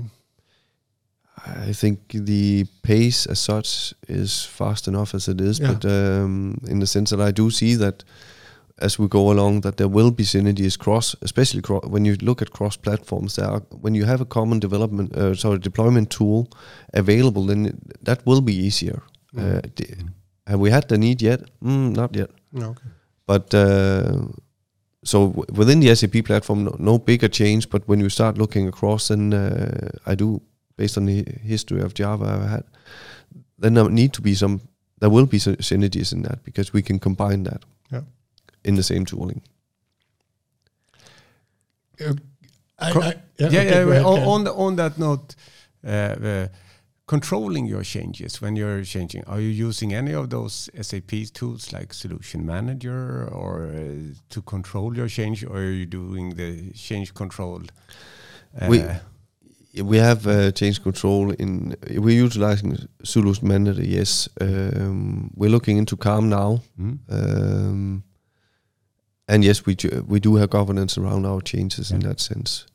I think the pace as such is fast enough as it is, yeah. but um, in the sense that I do see that as we go along, that there will be synergies cross, especially cro- when you look at cross platforms. There are, when you have a common development, uh, sorry, deployment tool available, then it, that will be easier. Mm. Uh, d- have we had the need yet? Mm, not yet. No, okay. But uh, so w- within the S A P platform, no, no bigger change. But when you start looking across, then uh, I do, based on the history of Java I've had, then there need to be some. There will be sy- synergies in that because we can combine that. Yeah. In the same tooling. Uh, I, I, yeah, yeah, okay, yeah ahead, on, on, the, on that note, uh, uh, controlling your changes when you're changing, are you using any of those S A P tools like Solution Manager or uh, to control your change, or are you doing the change control? Uh, we we have uh, change control in. We're utilizing Solution Manager. Yes, um, we're looking into Calm now. Mm. Um, And yes, we ju- we do have governance around our changes yeah. in that sense.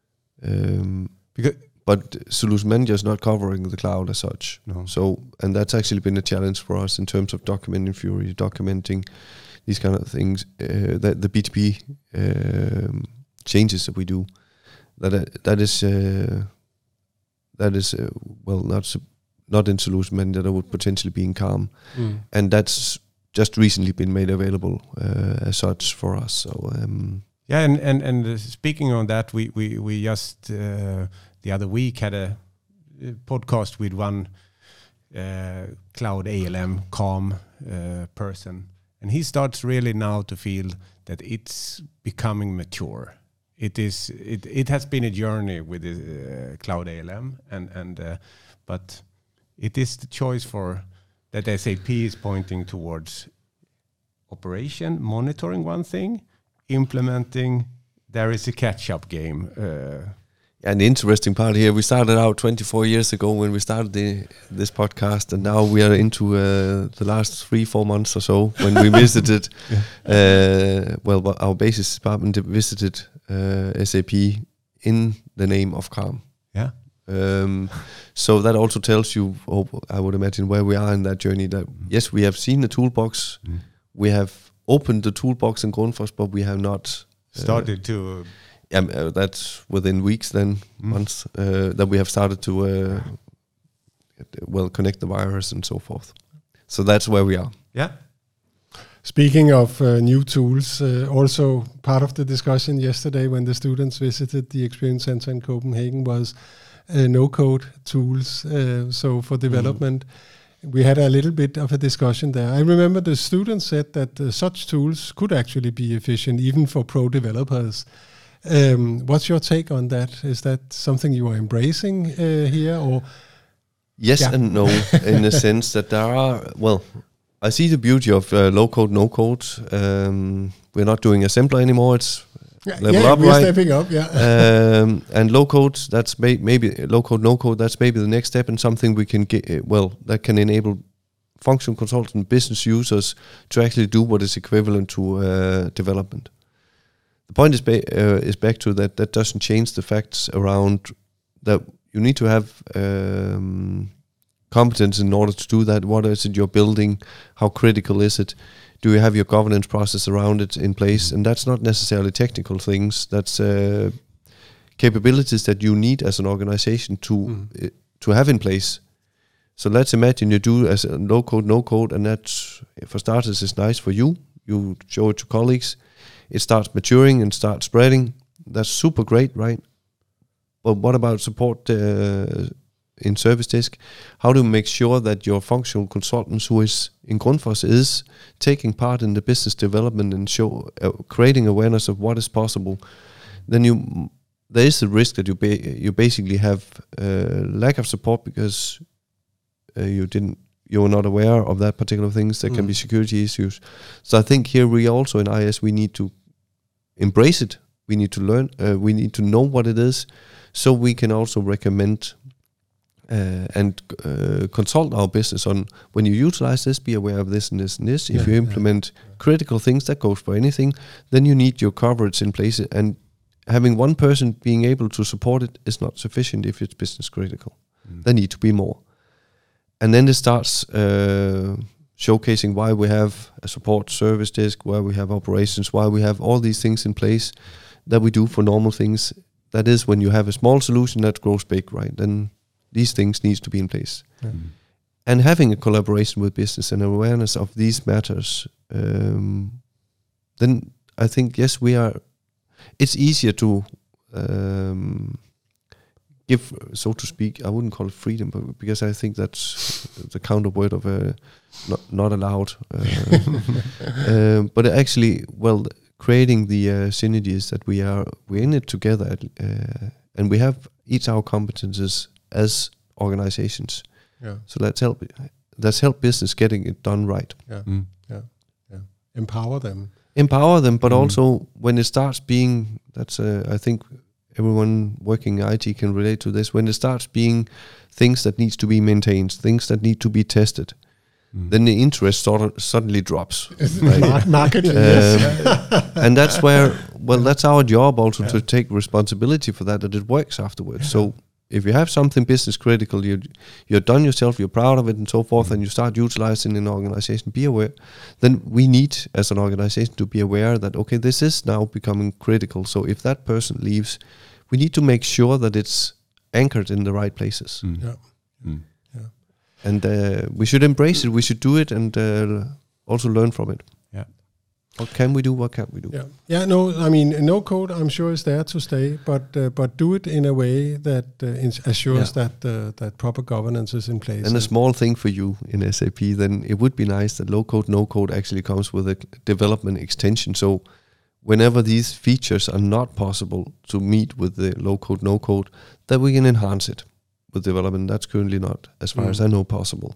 Um, because but Solution Manager is not covering the cloud as such. No. So, and that's actually been a challenge for us in terms of documenting Fury, documenting these kind of things. Uh, that the B T P um, changes that we do, that uh, that is uh, that is uh, well not su- not in Solution Manager. That would potentially be in Calm, mm. and that's just recently been made available uh, as such for us. So um, yeah, and and and uh, speaking on that, we we we just uh, the other week had a podcast with one uh, cloud A L M Calm uh, person, and he starts really now to feel that it's becoming mature. It is it it has been a journey with the uh, cloud A L M, and and uh, but it is the choice for. That S A P is pointing towards operation, monitoring one thing, implementing, there is a catch-up game. Uh, and the interesting part here, we started out twenty-four years ago when we started the, this podcast, and now we are into uh, the last three, four months or so when we visited, yeah. uh, well, our basis department visited uh, S A P in the name of Calm. Yeah. Um, so that also tells you, oh, I would imagine, where we are in that journey. That yes, we have seen the toolbox, mm. we have opened the toolbox in Grundfos, but we have not uh, started to. Uh, yeah, uh, that's within weeks, then mm. months uh, that we have started to uh, well connect the virus and so forth. So that's where we are. Yeah. Speaking of uh, new tools, uh, also part of the discussion yesterday when the students visited the Experience Center in Copenhagen was uh, no-code tools. Uh, so for development, mm. we had a little bit of a discussion there. I remember the students said that uh, such tools could actually be efficient even for pro developers. Um, what's your take on that? Is that something you are embracing uh, here, or? Yes yeah. and no, in the sense that there are, well, I see the beauty of uh, low code, no code. Um, we're not doing assembler anymore. It's level yeah, up, we're right? stepping up, yeah. um, and low code, that's may- maybe low code, no code. That's maybe the next step, and something we can get. Uh, well, that can enable functional consultant business users to actually do what is equivalent to uh, development. The point is ba- uh, is back to that. That doesn't change the facts around that you need to have um, competence in order to do that. What is it you're building? How critical is it? Do you have your governance process around it in place? And that's not necessarily technical things. That's uh, capabilities that you need as an organization to mm. uh, to have in place. So let's imagine you do as a low code, no code, and that, for starters, is nice for you. You show it to colleagues. It starts maturing and starts spreading. That's super great, right? But what about support uh, in service desk? How do you make sure that your functional consultants who is in Grundfos is taking part in the business development and show uh, creating awareness of what is possible? Then you there is the risk that you ba- you basically have uh, lack of support because uh, you didn't you're not aware of that particular things. There mm. can be security issues. So I think here we also in I S we need to embrace it. We need to learn. Uh, we need to know what it is, so we can also recommend uh, and uh, consult our business on when you utilize this. Be aware of this and this and this. Yeah, if you implement yeah. critical things, that goes for anything. Then you need your coverage in place, and having one person being able to support it is not sufficient if it's business critical. Mm. There need to be more, and then it starts. Uh, showcasing why we have a support service desk, why we have operations, why we have all these things in place that we do for normal things. That is when you have a small solution that grows big, right? Then these things needs to be in place. Yeah. Mm. And having a collaboration with business and awareness of these matters, um, then I think, yes, we are, it's easier to um, give, so to speak, I wouldn't call it freedom, but because I think that's the counter word of a not, not allowed. Uh, um, but actually, well, creating the uh, synergies that we are, we're in it together, uh, and we have each our competences as organizations. Yeah. So let's help. Let's help business getting it done right. Yeah. Mm. Yeah. Yeah. Empower them. Empower them, but mm. also when it starts being, that's uh, I think. Everyone working in I T can relate to this. When it starts being things that needs to be maintained, things that need to be tested, mm. then the interest sort of suddenly drops. Right? Marketing, um, yes. And that's where, well, that's our job also yeah. to take responsibility for that, that it works afterwards. Yeah. So if you have something business critical, you, you're done yourself, you're proud of it and so forth, mm. and you start utilizing in an organization, be aware, then we need as an organization to be aware that, okay, this is now becoming critical. So if that person leaves, we need to make sure that it's anchored in the right places. Mm. Yeah. Mm. Yeah. And uh, we should embrace it, we should do it, and uh, also learn from it. Yeah. What can we do, what can't we do? Yeah, yeah. No, I mean, no code, I'm sure, is there to stay, but uh, but do it in a way that uh, ins- assures yeah. that uh, that proper governance is in place. And a small thing for you in S A P, then it would be nice that low code, no code actually comes with a development extension. So whenever these features are not possible to meet with the low code, no code, that we can enhance it with development. That's currently not, as far mm. as I know, possible.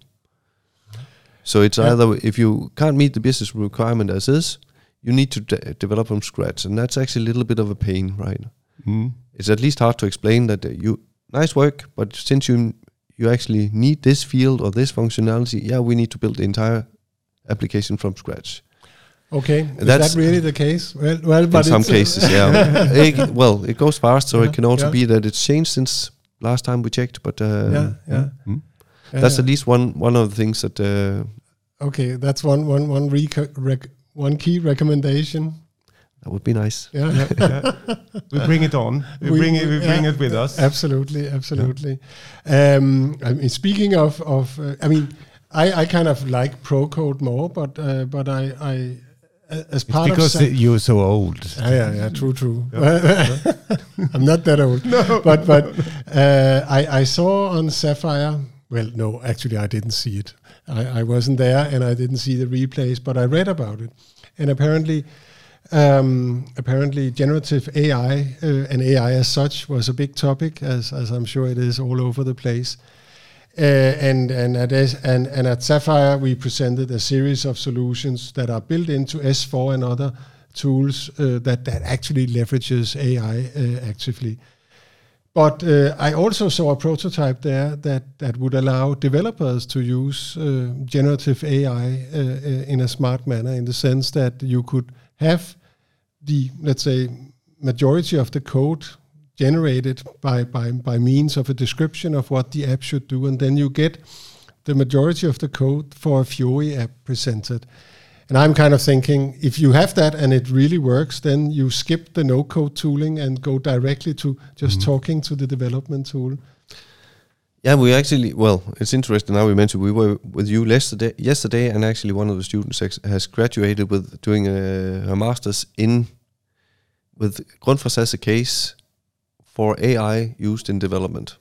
So it's yeah. either, if you can't meet the business requirement as is, you need to de- develop from scratch. And that's actually a little bit of a pain, right? Mm. It's at least hard to explain that uh, you, nice work, but since you you actually need this field or this functionality, yeah, we need to build the entire application from scratch. Okay, is that really the case? Well, well, but in some cases, yeah. it, well, it goes fast, so yeah, it can also yeah. be that it's changed since last time we checked. But uh, yeah, yeah. Mm. that's yeah. at least one one of the things that. Uh, okay, that's one one one rec- rec- one key recommendation. That would be nice. Yeah, yeah, yeah. We bring it on. We, we bring it. We bring yeah, it with us. Absolutely, absolutely. Yeah. Um, I mean, speaking of of, uh, I mean, I, I kind of like pro code more, but uh, but I. I As part it's because of some you're so old. Yeah, yeah, yeah, true, true. Yeah. I'm not that old. No. But but uh, I I saw on Sapphire. Well, no, actually I didn't see it. I, I wasn't there, and I didn't see the replays. But I read about it, and apparently, um, apparently, generative A I uh, and A I as such was a big topic, as as I'm sure it is all over the place. Uh, and and at S- and, and at Sapphire we presented a series of solutions that are built into S four and other tools uh, that that actually leverages A I uh, actively. But uh, I also saw a prototype there that that would allow developers to use uh, generative A I uh, uh, in a smart manner, in the sense that you could have the, let's say, majority of the code generated by, by, by means of a description of what the app should do, and then you get the majority of the code for a Fiori app presented. And I'm kind of thinking, if you have that and it really works, then you skip the no-code tooling and go directly to just mm-hmm. talking to the development tool. Yeah, we actually, well, it's interesting now we mentioned we were with you yesterday, yesterday and actually one of the students ex- has graduated with doing a, a master's in, with Grundfos as a case for A I used in development.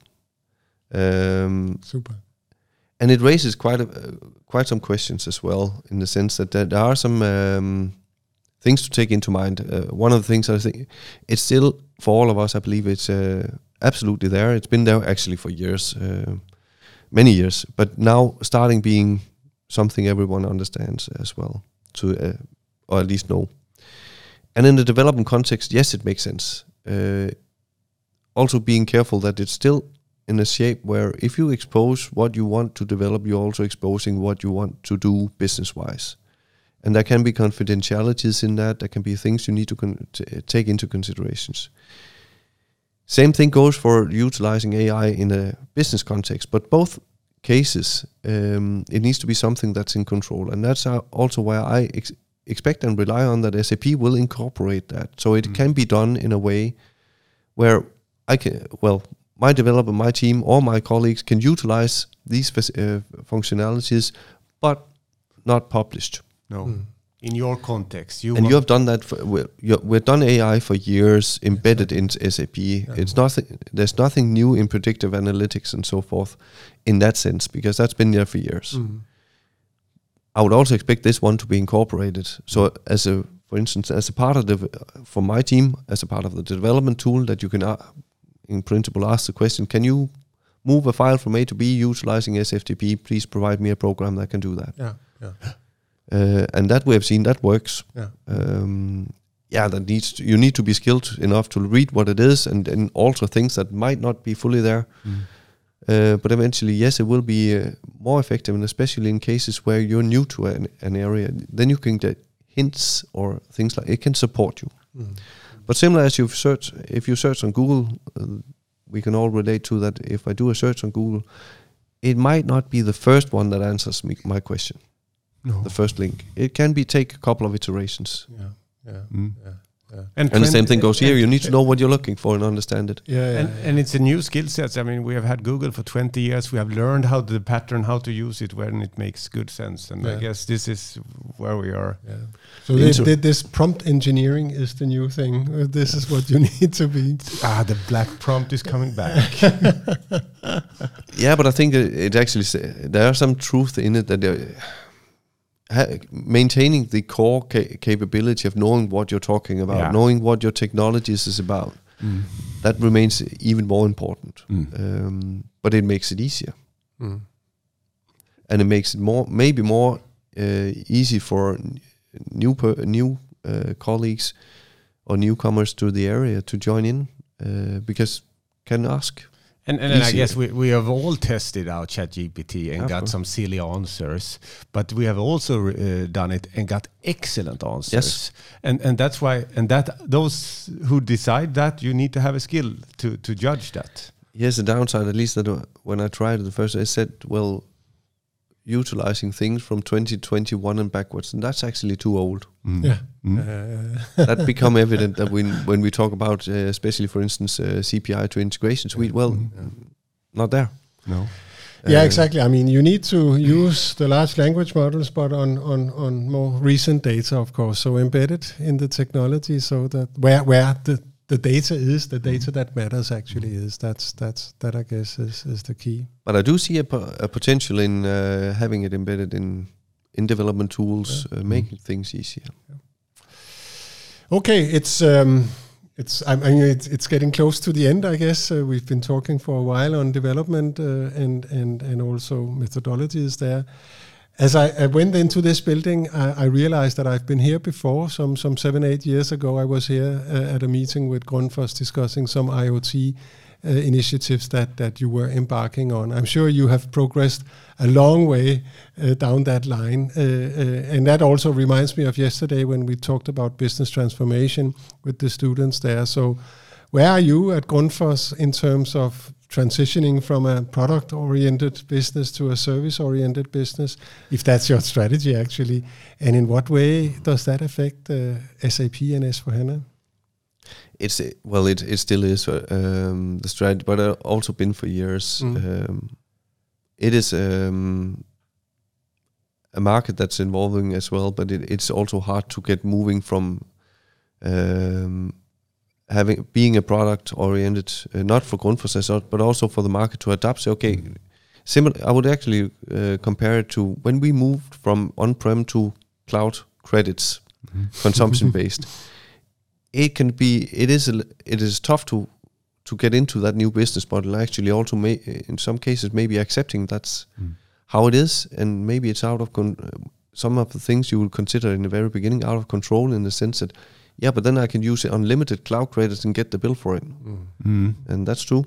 Um, Super. And it raises quite a, uh, quite some questions as well, in the sense that there, there are some um, things to take into mind. Uh, one of the things I think, it's still, for all of us, I believe it's uh, absolutely there. It's been there actually for years, uh, many years, but now starting being something everyone understands as well, to uh, or at least know. And in the development context, yes, it makes sense. Uh, also being careful that it's still in a shape where if you expose what you want to develop, you're also exposing what you want to do business-wise. And there can be confidentialities in that. There can be things you need to con- t- take into considerations. Same thing goes for utilizing A I in a business context, but both cases, um, it needs to be something that's in control. And that's also where I ex- expect and rely on that S A P will incorporate that. So it mm. can be done in a way where I can, well, my developer, my team, or my colleagues can utilize these uh, functionalities, but not published. No, mm. in your context, you and you have done that. For, we're, we've done A I for years, embedded exactly. in S A P. Yeah. It's nothing. There's nothing new in predictive analytics and so forth, in that sense, because that's been there for years. Mm. I would also expect this one to be incorporated. So, as a, for instance, as a part of the, for my team, as a part of the development tool, that you can. Uh, in principle ask the question, can you move a file from A to B utilizing S F T P? Please provide me a program that can do that. Yeah, yeah. Uh, and that we have seen, that works. Yeah, um, yeah. That needs to, you need to be skilled enough to read what it is and, and alter things that might not be fully there. Mm. Uh, but eventually, yes, it will be uh, more effective, and especially in cases where you're new to an, an area, then you can get hints or things like it can support you. Mm. But similar as you've searched, if you search on Google, uh, we can all relate to that. If I do a search on Google, it might not be the first one that answers me, my question. No. The first link. It can be take a couple of iterations. Yeah, yeah, mm. yeah. Yeah. And, and the same thing goes here. You need to know what you're looking for and understand it. Yeah, yeah, and, yeah. and it's a new skill set. I mean, we have had Google for twenty years. We have learned how the pattern, how to use it when it makes good sense. And yeah. I guess this is where we are. Yeah. So this, this prompt engineering is the new thing. Uh, this is what you need to be. Ah, the black prompt is coming back. Yeah, but I think it actually there are some truth in it that. Ha- maintaining the core ca- capability of knowing what you're talking about, yeah. knowing what your technologies is about, mm. that remains even more important. Mm. Um, but it makes it easier, mm. and it makes it more, maybe more uh, easy for n- new per- new uh, colleagues or newcomers to the area to join in, uh, because can ask. And, and, and I guess we, we have all tested out ChatGPT and got some silly answers, but we have also uh, done it and got excellent answers. Yes. And and that's why, and that those who decide that, you need to have a skill to, to judge that. Yes, the downside, at least that when I tried it the first, I said, well, utilizing things from twenty twenty-one and backwards, and that's actually too old. Mm. Yeah, mm. uh, that become evident that when when we talk about, uh, especially for instance, uh, C P I to integration suite, well, mm. uh, not there. No. Yeah, uh, exactly. I mean, you need to use the large language models, but on on on more recent data, of course. So embedded in the technology, so that where where the the data is, the data that matters actually is. That's that's that I guess is, is the key. But I do see a, po- a potential in uh, having it embedded in in development tools, yeah. uh, making mm. things easier. Yeah. Okay, it's um, It's I mean it's, it's getting close to the end, I guess. Uh, we've been talking for a while on development uh, and and and also methodologies there. As I, I went into this building, I, I realized that I've been here before. Some some seven eight years ago, I was here uh, at a meeting with Grundfos discussing some IoT uh, initiatives that that you were embarking on. I'm sure you have progressed a long way uh, down that line, uh, uh, and that also reminds me of yesterday when we talked about business transformation with the students there. So, where are you at Grundfos in terms of transitioning from a product-oriented business to a service-oriented business, if that's your strategy actually, and in what way does that affect uh, S A P and S four HANA? It's well, it it still is uh, um, the strategy, but I've also been for years. Mm. Um, it is um, a market that's evolving as well, but it, it's also hard to get moving from um, having being a product oriented, uh, not for Grundfos as such, but also for the market to adapt. So okay, mm. similar. I would actually uh, compare it to when we moved from on-prem to cloud credits, mm-hmm. consumption based. It can be. It is. A, it is tough to to get into that new business model. Actually, also may, in some cases maybe accepting that's mm. how it is, and maybe it's out of con- some of the things you will consider in the very beginning out of control in the sense that. Yeah, but then I can use unlimited cloud credits and get the bill for it. Mm. Mm. And that's true.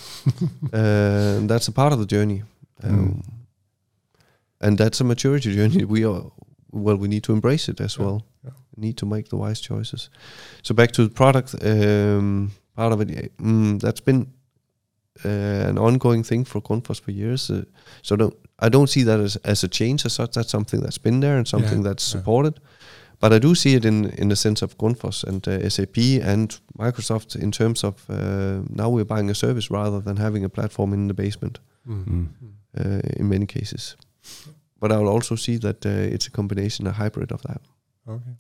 uh, and that's a part of the journey. Um, mm. And that's a maturity journey. We are, well, we need to embrace it as yeah. well. Yeah. We need to make the wise choices. So back to the product um, part of it, mm, that's been uh, an ongoing thing for Grundfos for years. Uh, so don't, I don't see that as, as a change as such. That's something that's been there and something yeah. that's supported. Yeah. But I do see it in, in the sense of Grundfos and uh, S A P and Microsoft in terms of uh, now we're buying a service rather than having a platform in the basement mm-hmm. uh, in many cases. But I will also see that uh, it's a combination, a hybrid of that. Okay.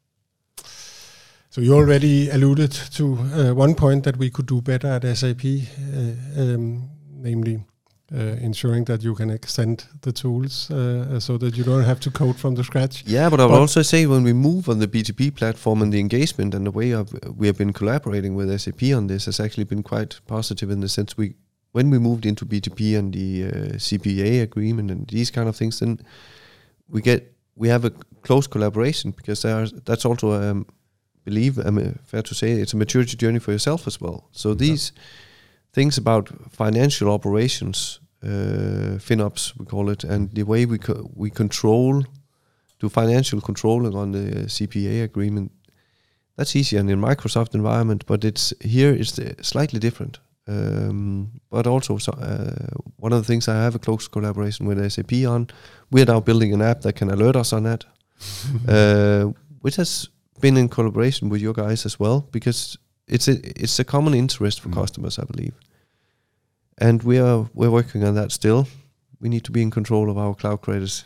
So you already alluded to uh, one point that we could do better at S A P, uh, um, namely Uh, ensuring that you can extend the tools uh, so that you don't have to code from the scratch. Yeah, but I would also say when we move on the B two B platform and the engagement and the way of, we have been collaborating with S A P on this has actually been quite positive in the sense we, when we moved into B two B and the uh, C P A agreement and these kind of things, then we get we have a close collaboration because there are, that's also um, believe um, fair to say it's a maturity journey for yourself as well. So yeah. these things about financial operations, uh, FinOps we call it, and the way we co- we control, do financial controlling on the C P A agreement, that's easier in the Microsoft environment, but it's here it's slightly different. Um, but also so, uh, one of the things I have a close collaboration with S A P on, we're now building an app that can alert us on that, uh, which has been in collaboration with you guys as well, because It's a it's a common interest for mm. customers, I believe, and we are we're working on that still. We need to be in control of our cloud credits.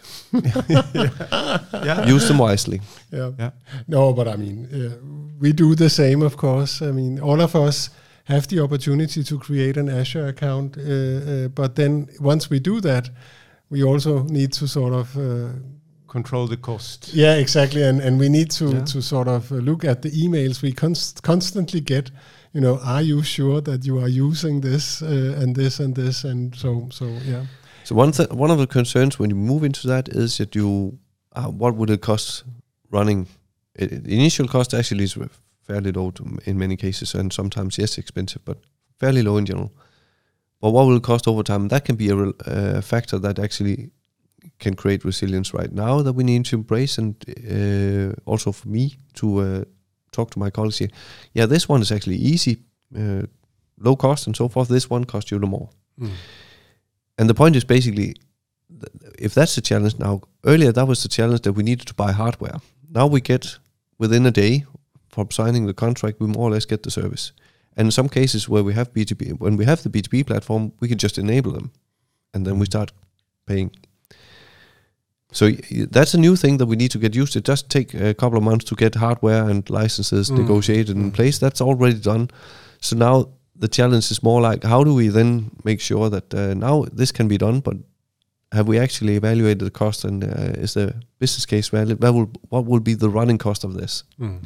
yeah. Use them wisely. Yeah. yeah. No, but I mean, uh, we do the same, of course. I mean, all of us have the opportunity to create an Azure account, uh, uh, but then once we do that, we also need to sort of uh, control the cost. Yeah, exactly, and and we need to yeah. to sort of look at the emails we const- constantly get. You know, are you sure that you are using this uh, and this and this and so so yeah. So one th- one of the concerns when you move into that is that you, uh, what would it cost running? It, the initial cost actually is fairly low to, in many cases, and sometimes yes expensive, but fairly low in general. But what will it cost over time? That can be a uh, factor that actually can create resilience right now that we need to embrace, and uh, also for me to uh, talk to my colleagues here. Yeah, this one is actually easy, uh, low cost and so forth. This one costs you the more. Mm. And the point is basically, if that's the challenge now, earlier that was the challenge that we needed to buy hardware. Now we get, within a day from signing the contract, we more or less get the service. And in some cases where we have B two B, when we have the B two B platform, we can just enable them, and then we start paying. So that's a new thing that we need to get used to. It does take a couple of months to get hardware and licenses mm. negotiated in place. That's already done. So now the challenge is more like, how do we then make sure that uh, now this can be done, but have we actually evaluated the cost, and uh, is the business case valid? What will, what will be the running cost of this? Mm. Mm.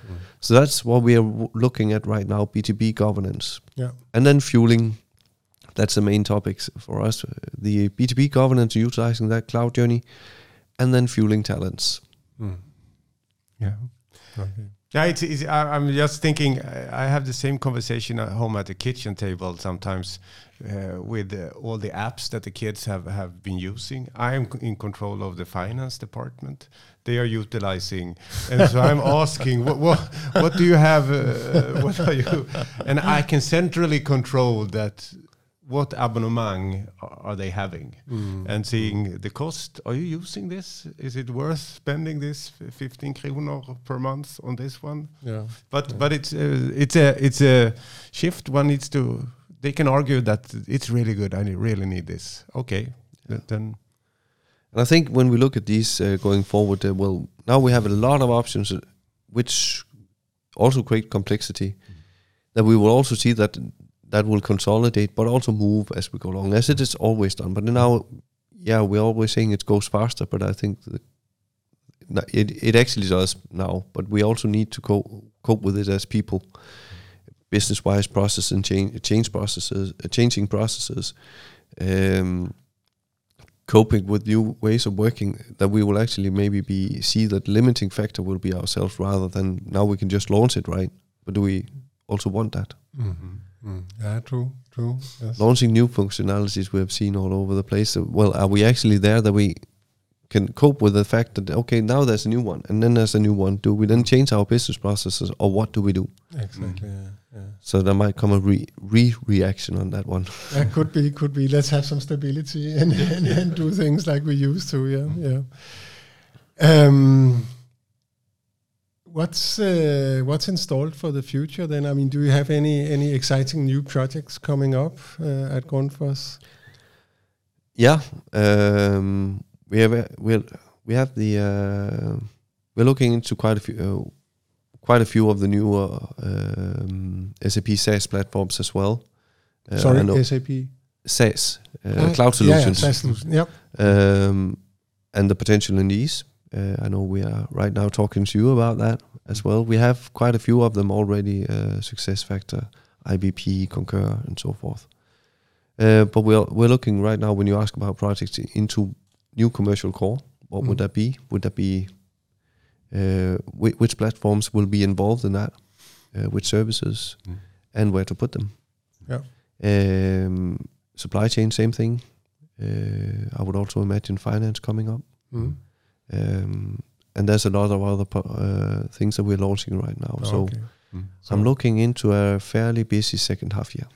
So that's what we are w- looking at right now, B two B governance. Yeah. And then fueling, that's the main topics for us. uh, The B two B governance, utilizing that cloud journey, and then fueling talents. Mm. Yeah. Okay. Yeah, it's, it's, I, I'm just thinking, I I have the same conversation at home at the kitchen table sometimes uh, with uh, all the apps that the kids have, have been using. I'm c- in control of the finance department. They are utilizing, and so I'm asking, what, what what do you have? Uh, what are you? And I can centrally control that. What abonnement are they having? Mm. And seeing the cost. Are you using this? Is it worth spending this fifteen kronor per month on this one? Yeah. But Yeah. but it's uh, it's a it's a shift. One needs to. They can argue that it's really good. I ne- really need this. Okay, th- then And I think when we look at these uh, going forward, uh, well, now we have a lot of options, uh, which also create complexity. That we will also see that that will consolidate, but also move as we go along, as it is always done. But now, yeah, we're always saying it goes faster, but I think that no, it it actually does now. But we also need to co- cope with it as people, business-wise process and change, change processes, uh, changing processes. Um, coping with new ways of working, that we will actually maybe be see that limiting factor will be ourselves rather than now we can just launch it, right? But do we also want that? Mm-hmm. Mm. Yeah, true, true. Yes. Launching new functionalities we have seen all over the place. So, well, are we actually there that we can cope with the fact that, okay, now there's a new one and then there's a new one. Do we then change our business processes, or what do we do? Exactly. Yeah, yeah. So there might come a re- re-reaction on that one. That could be, could be. Let's have some stability and, and, and do things like we used to. Yeah, yeah. Um, what's uh, what's installed for the future then? I mean, do you have any any exciting new projects coming up uh, at Grundfos? Yeah, um, we have a, we we have the uh, we're looking into quite a few uh, quite a few of the newer um, S A P SaaS platforms as well. Uh, Sorry, I know- S A P SaaS uh, Ah, cloud solutions, Yeah, SaaS solutions. Yep. um, and the potential in these. Uh, I know we are right now talking to you about that as well. We have quite a few of them already. Uh, SuccessFactor, I B P, Concur, and so forth. Uh, but we're we're looking right now, when you ask about projects, into new commercial core. What Mm. would that be? Would that be uh, whi- which platforms will be involved in that? Uh, which services Mm. and where to put them? Yeah. Um, supply chain, same thing. Uh, I would also imagine finance coming up. Mm. Um, and there's a lot of other po- uh, things that we're launching right now. So Okay. Mm. I'm looking into a fairly busy second half year.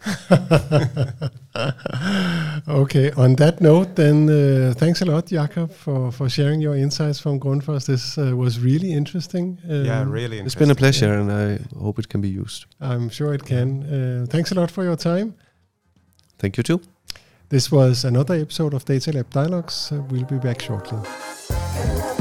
Okay. On that note, then uh, thanks a lot, Jakob, for, for sharing your insights from Grundfos. This uh, was really interesting. Um, yeah, really. It's been a interesting. pleasure, and I hope it can be used. I'm sure it can. Uh, thanks a lot for your time. Thank you too. This was another episode of Data Lab Dialogues. Uh, we'll be back shortly.